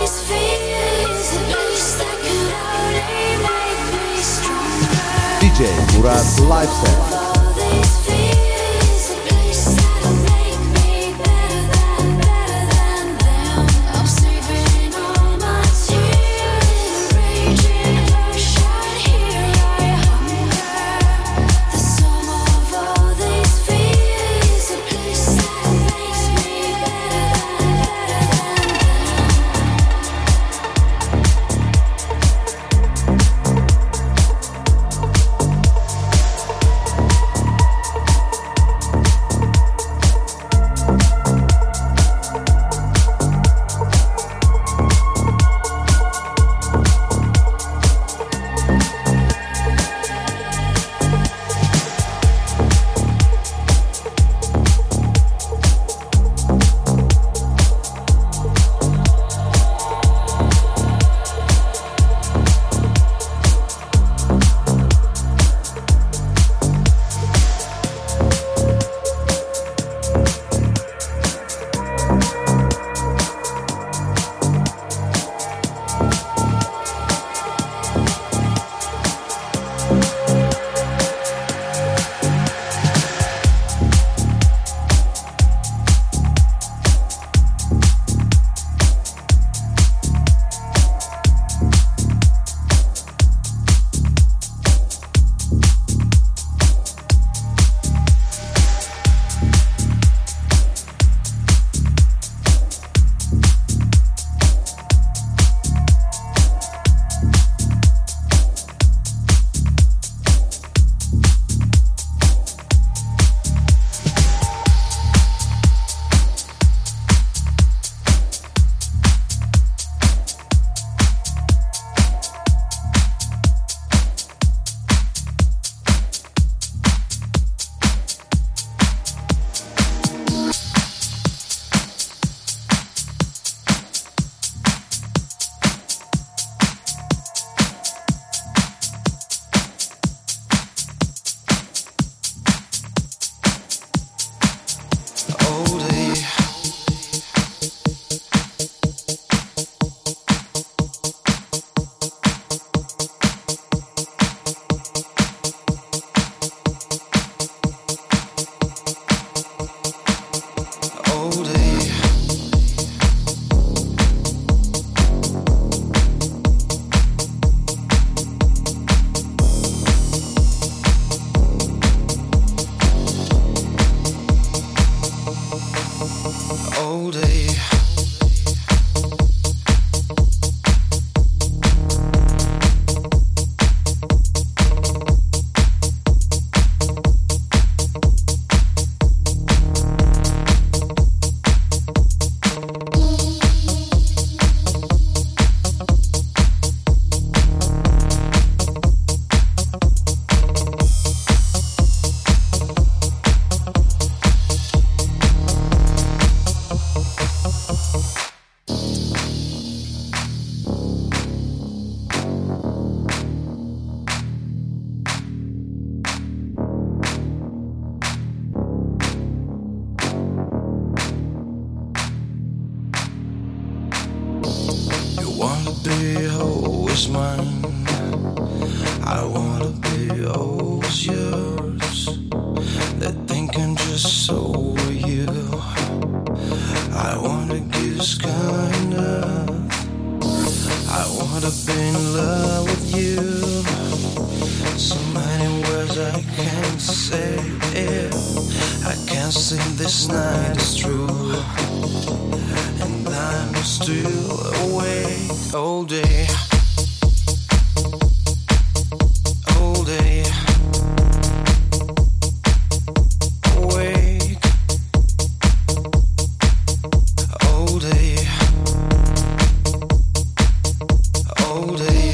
DJ Murat Lifestyle. be always mine. I wanna be always yours. That thinking just over you. I wanna give kind of. I wanna be in love with you. So many words I can't say it. I can't say this night is true. And I'm still awake all day. All day. Awake. All day. All day.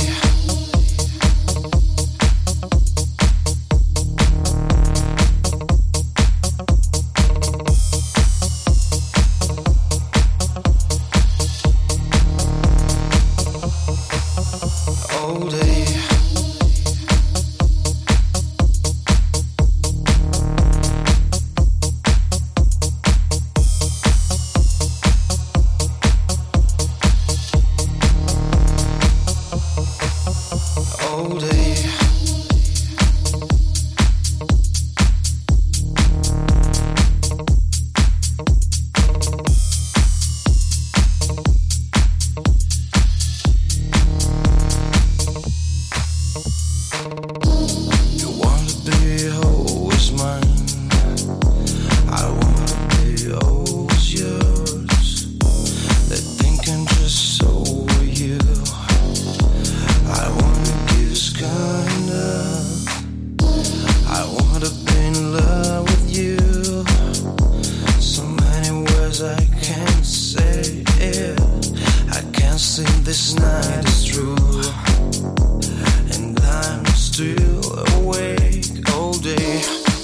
feeling this night is true, and I'm still awake all day,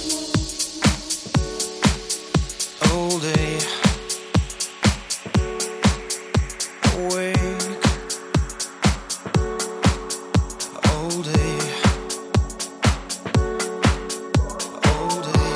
all day, awake all day, all day.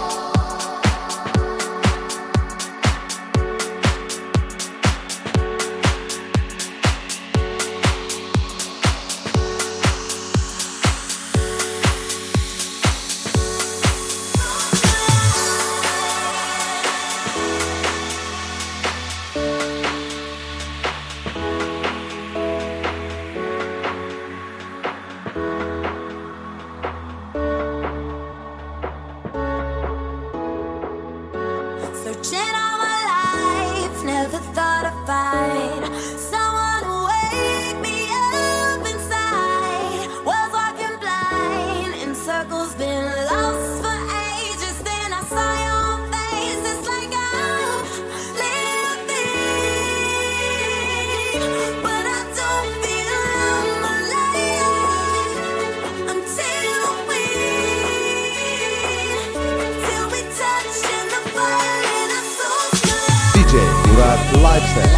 Searching all my life, never thought I'd find someone to wake me up inside. Was walking blind in circles, been lost for ages. Then I saw your face, it's like I'm living, but I don't feel I'm alive until we touch in the fire. DJ Murat Lifestyle.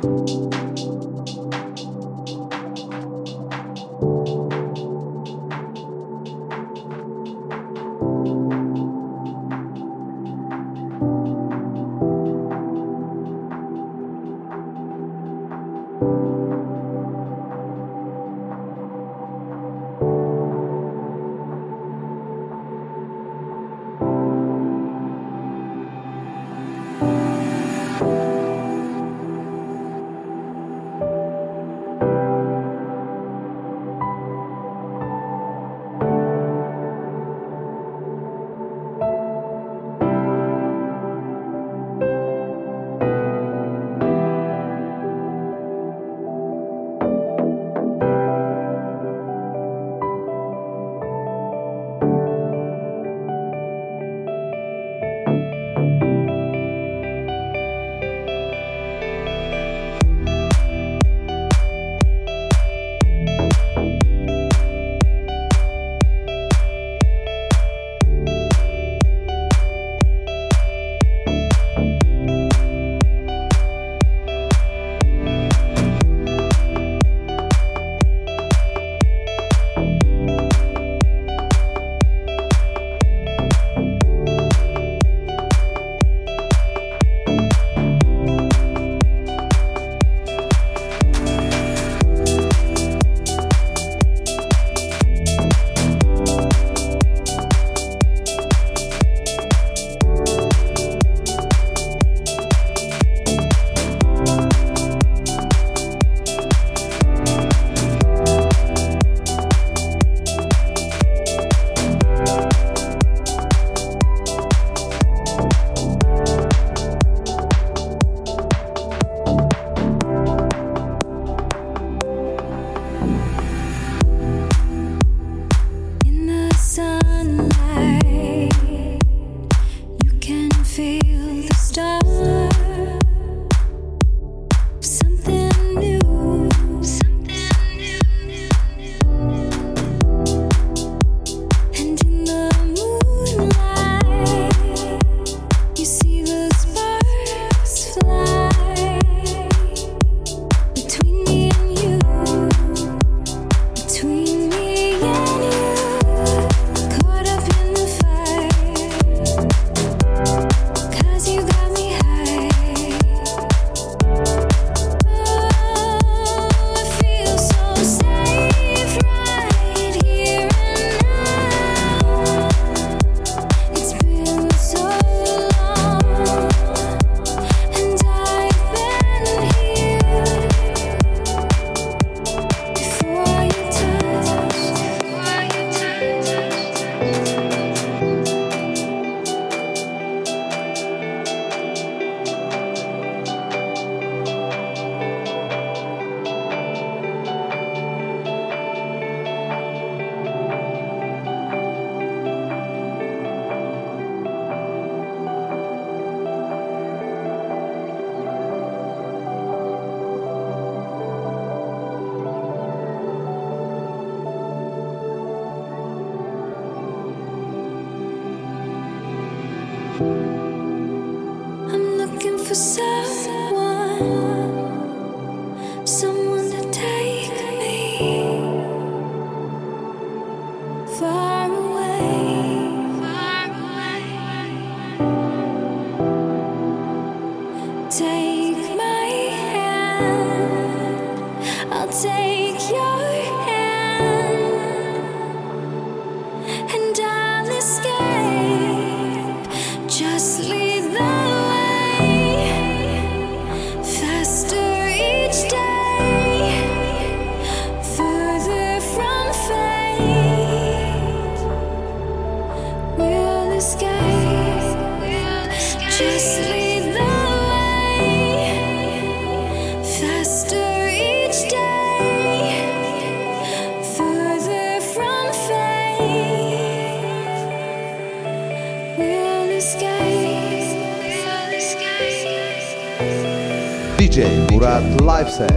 for someone to take me far away. Take my hand, I'll take your hand, and I'll escape. Just lead the way, faster each day, further from fate. We'll escape. Just lead the way, faster each day, further from fate. We'll escape. DJ Murat Live Set.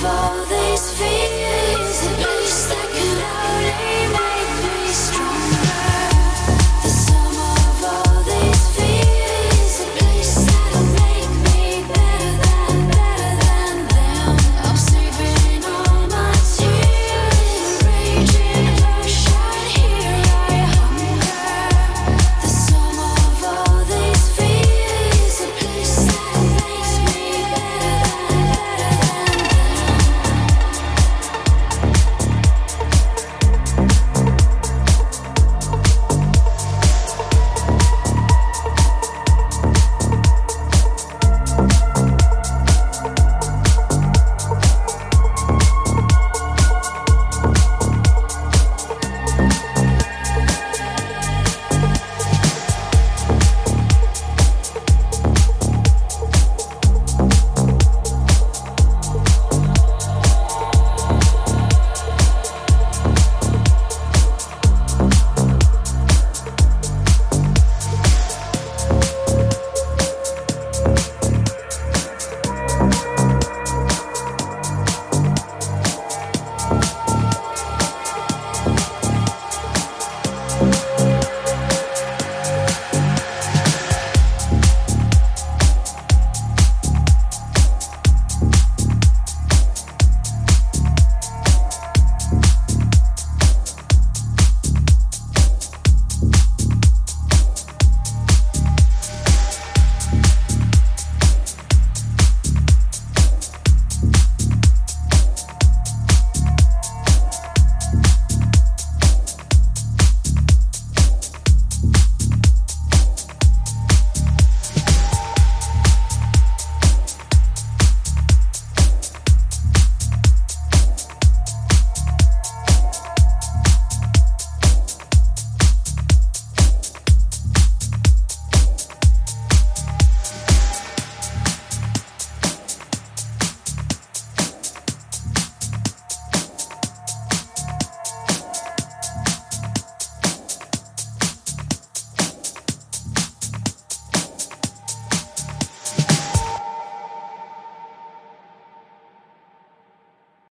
all these fears, at least I could only make me stronger.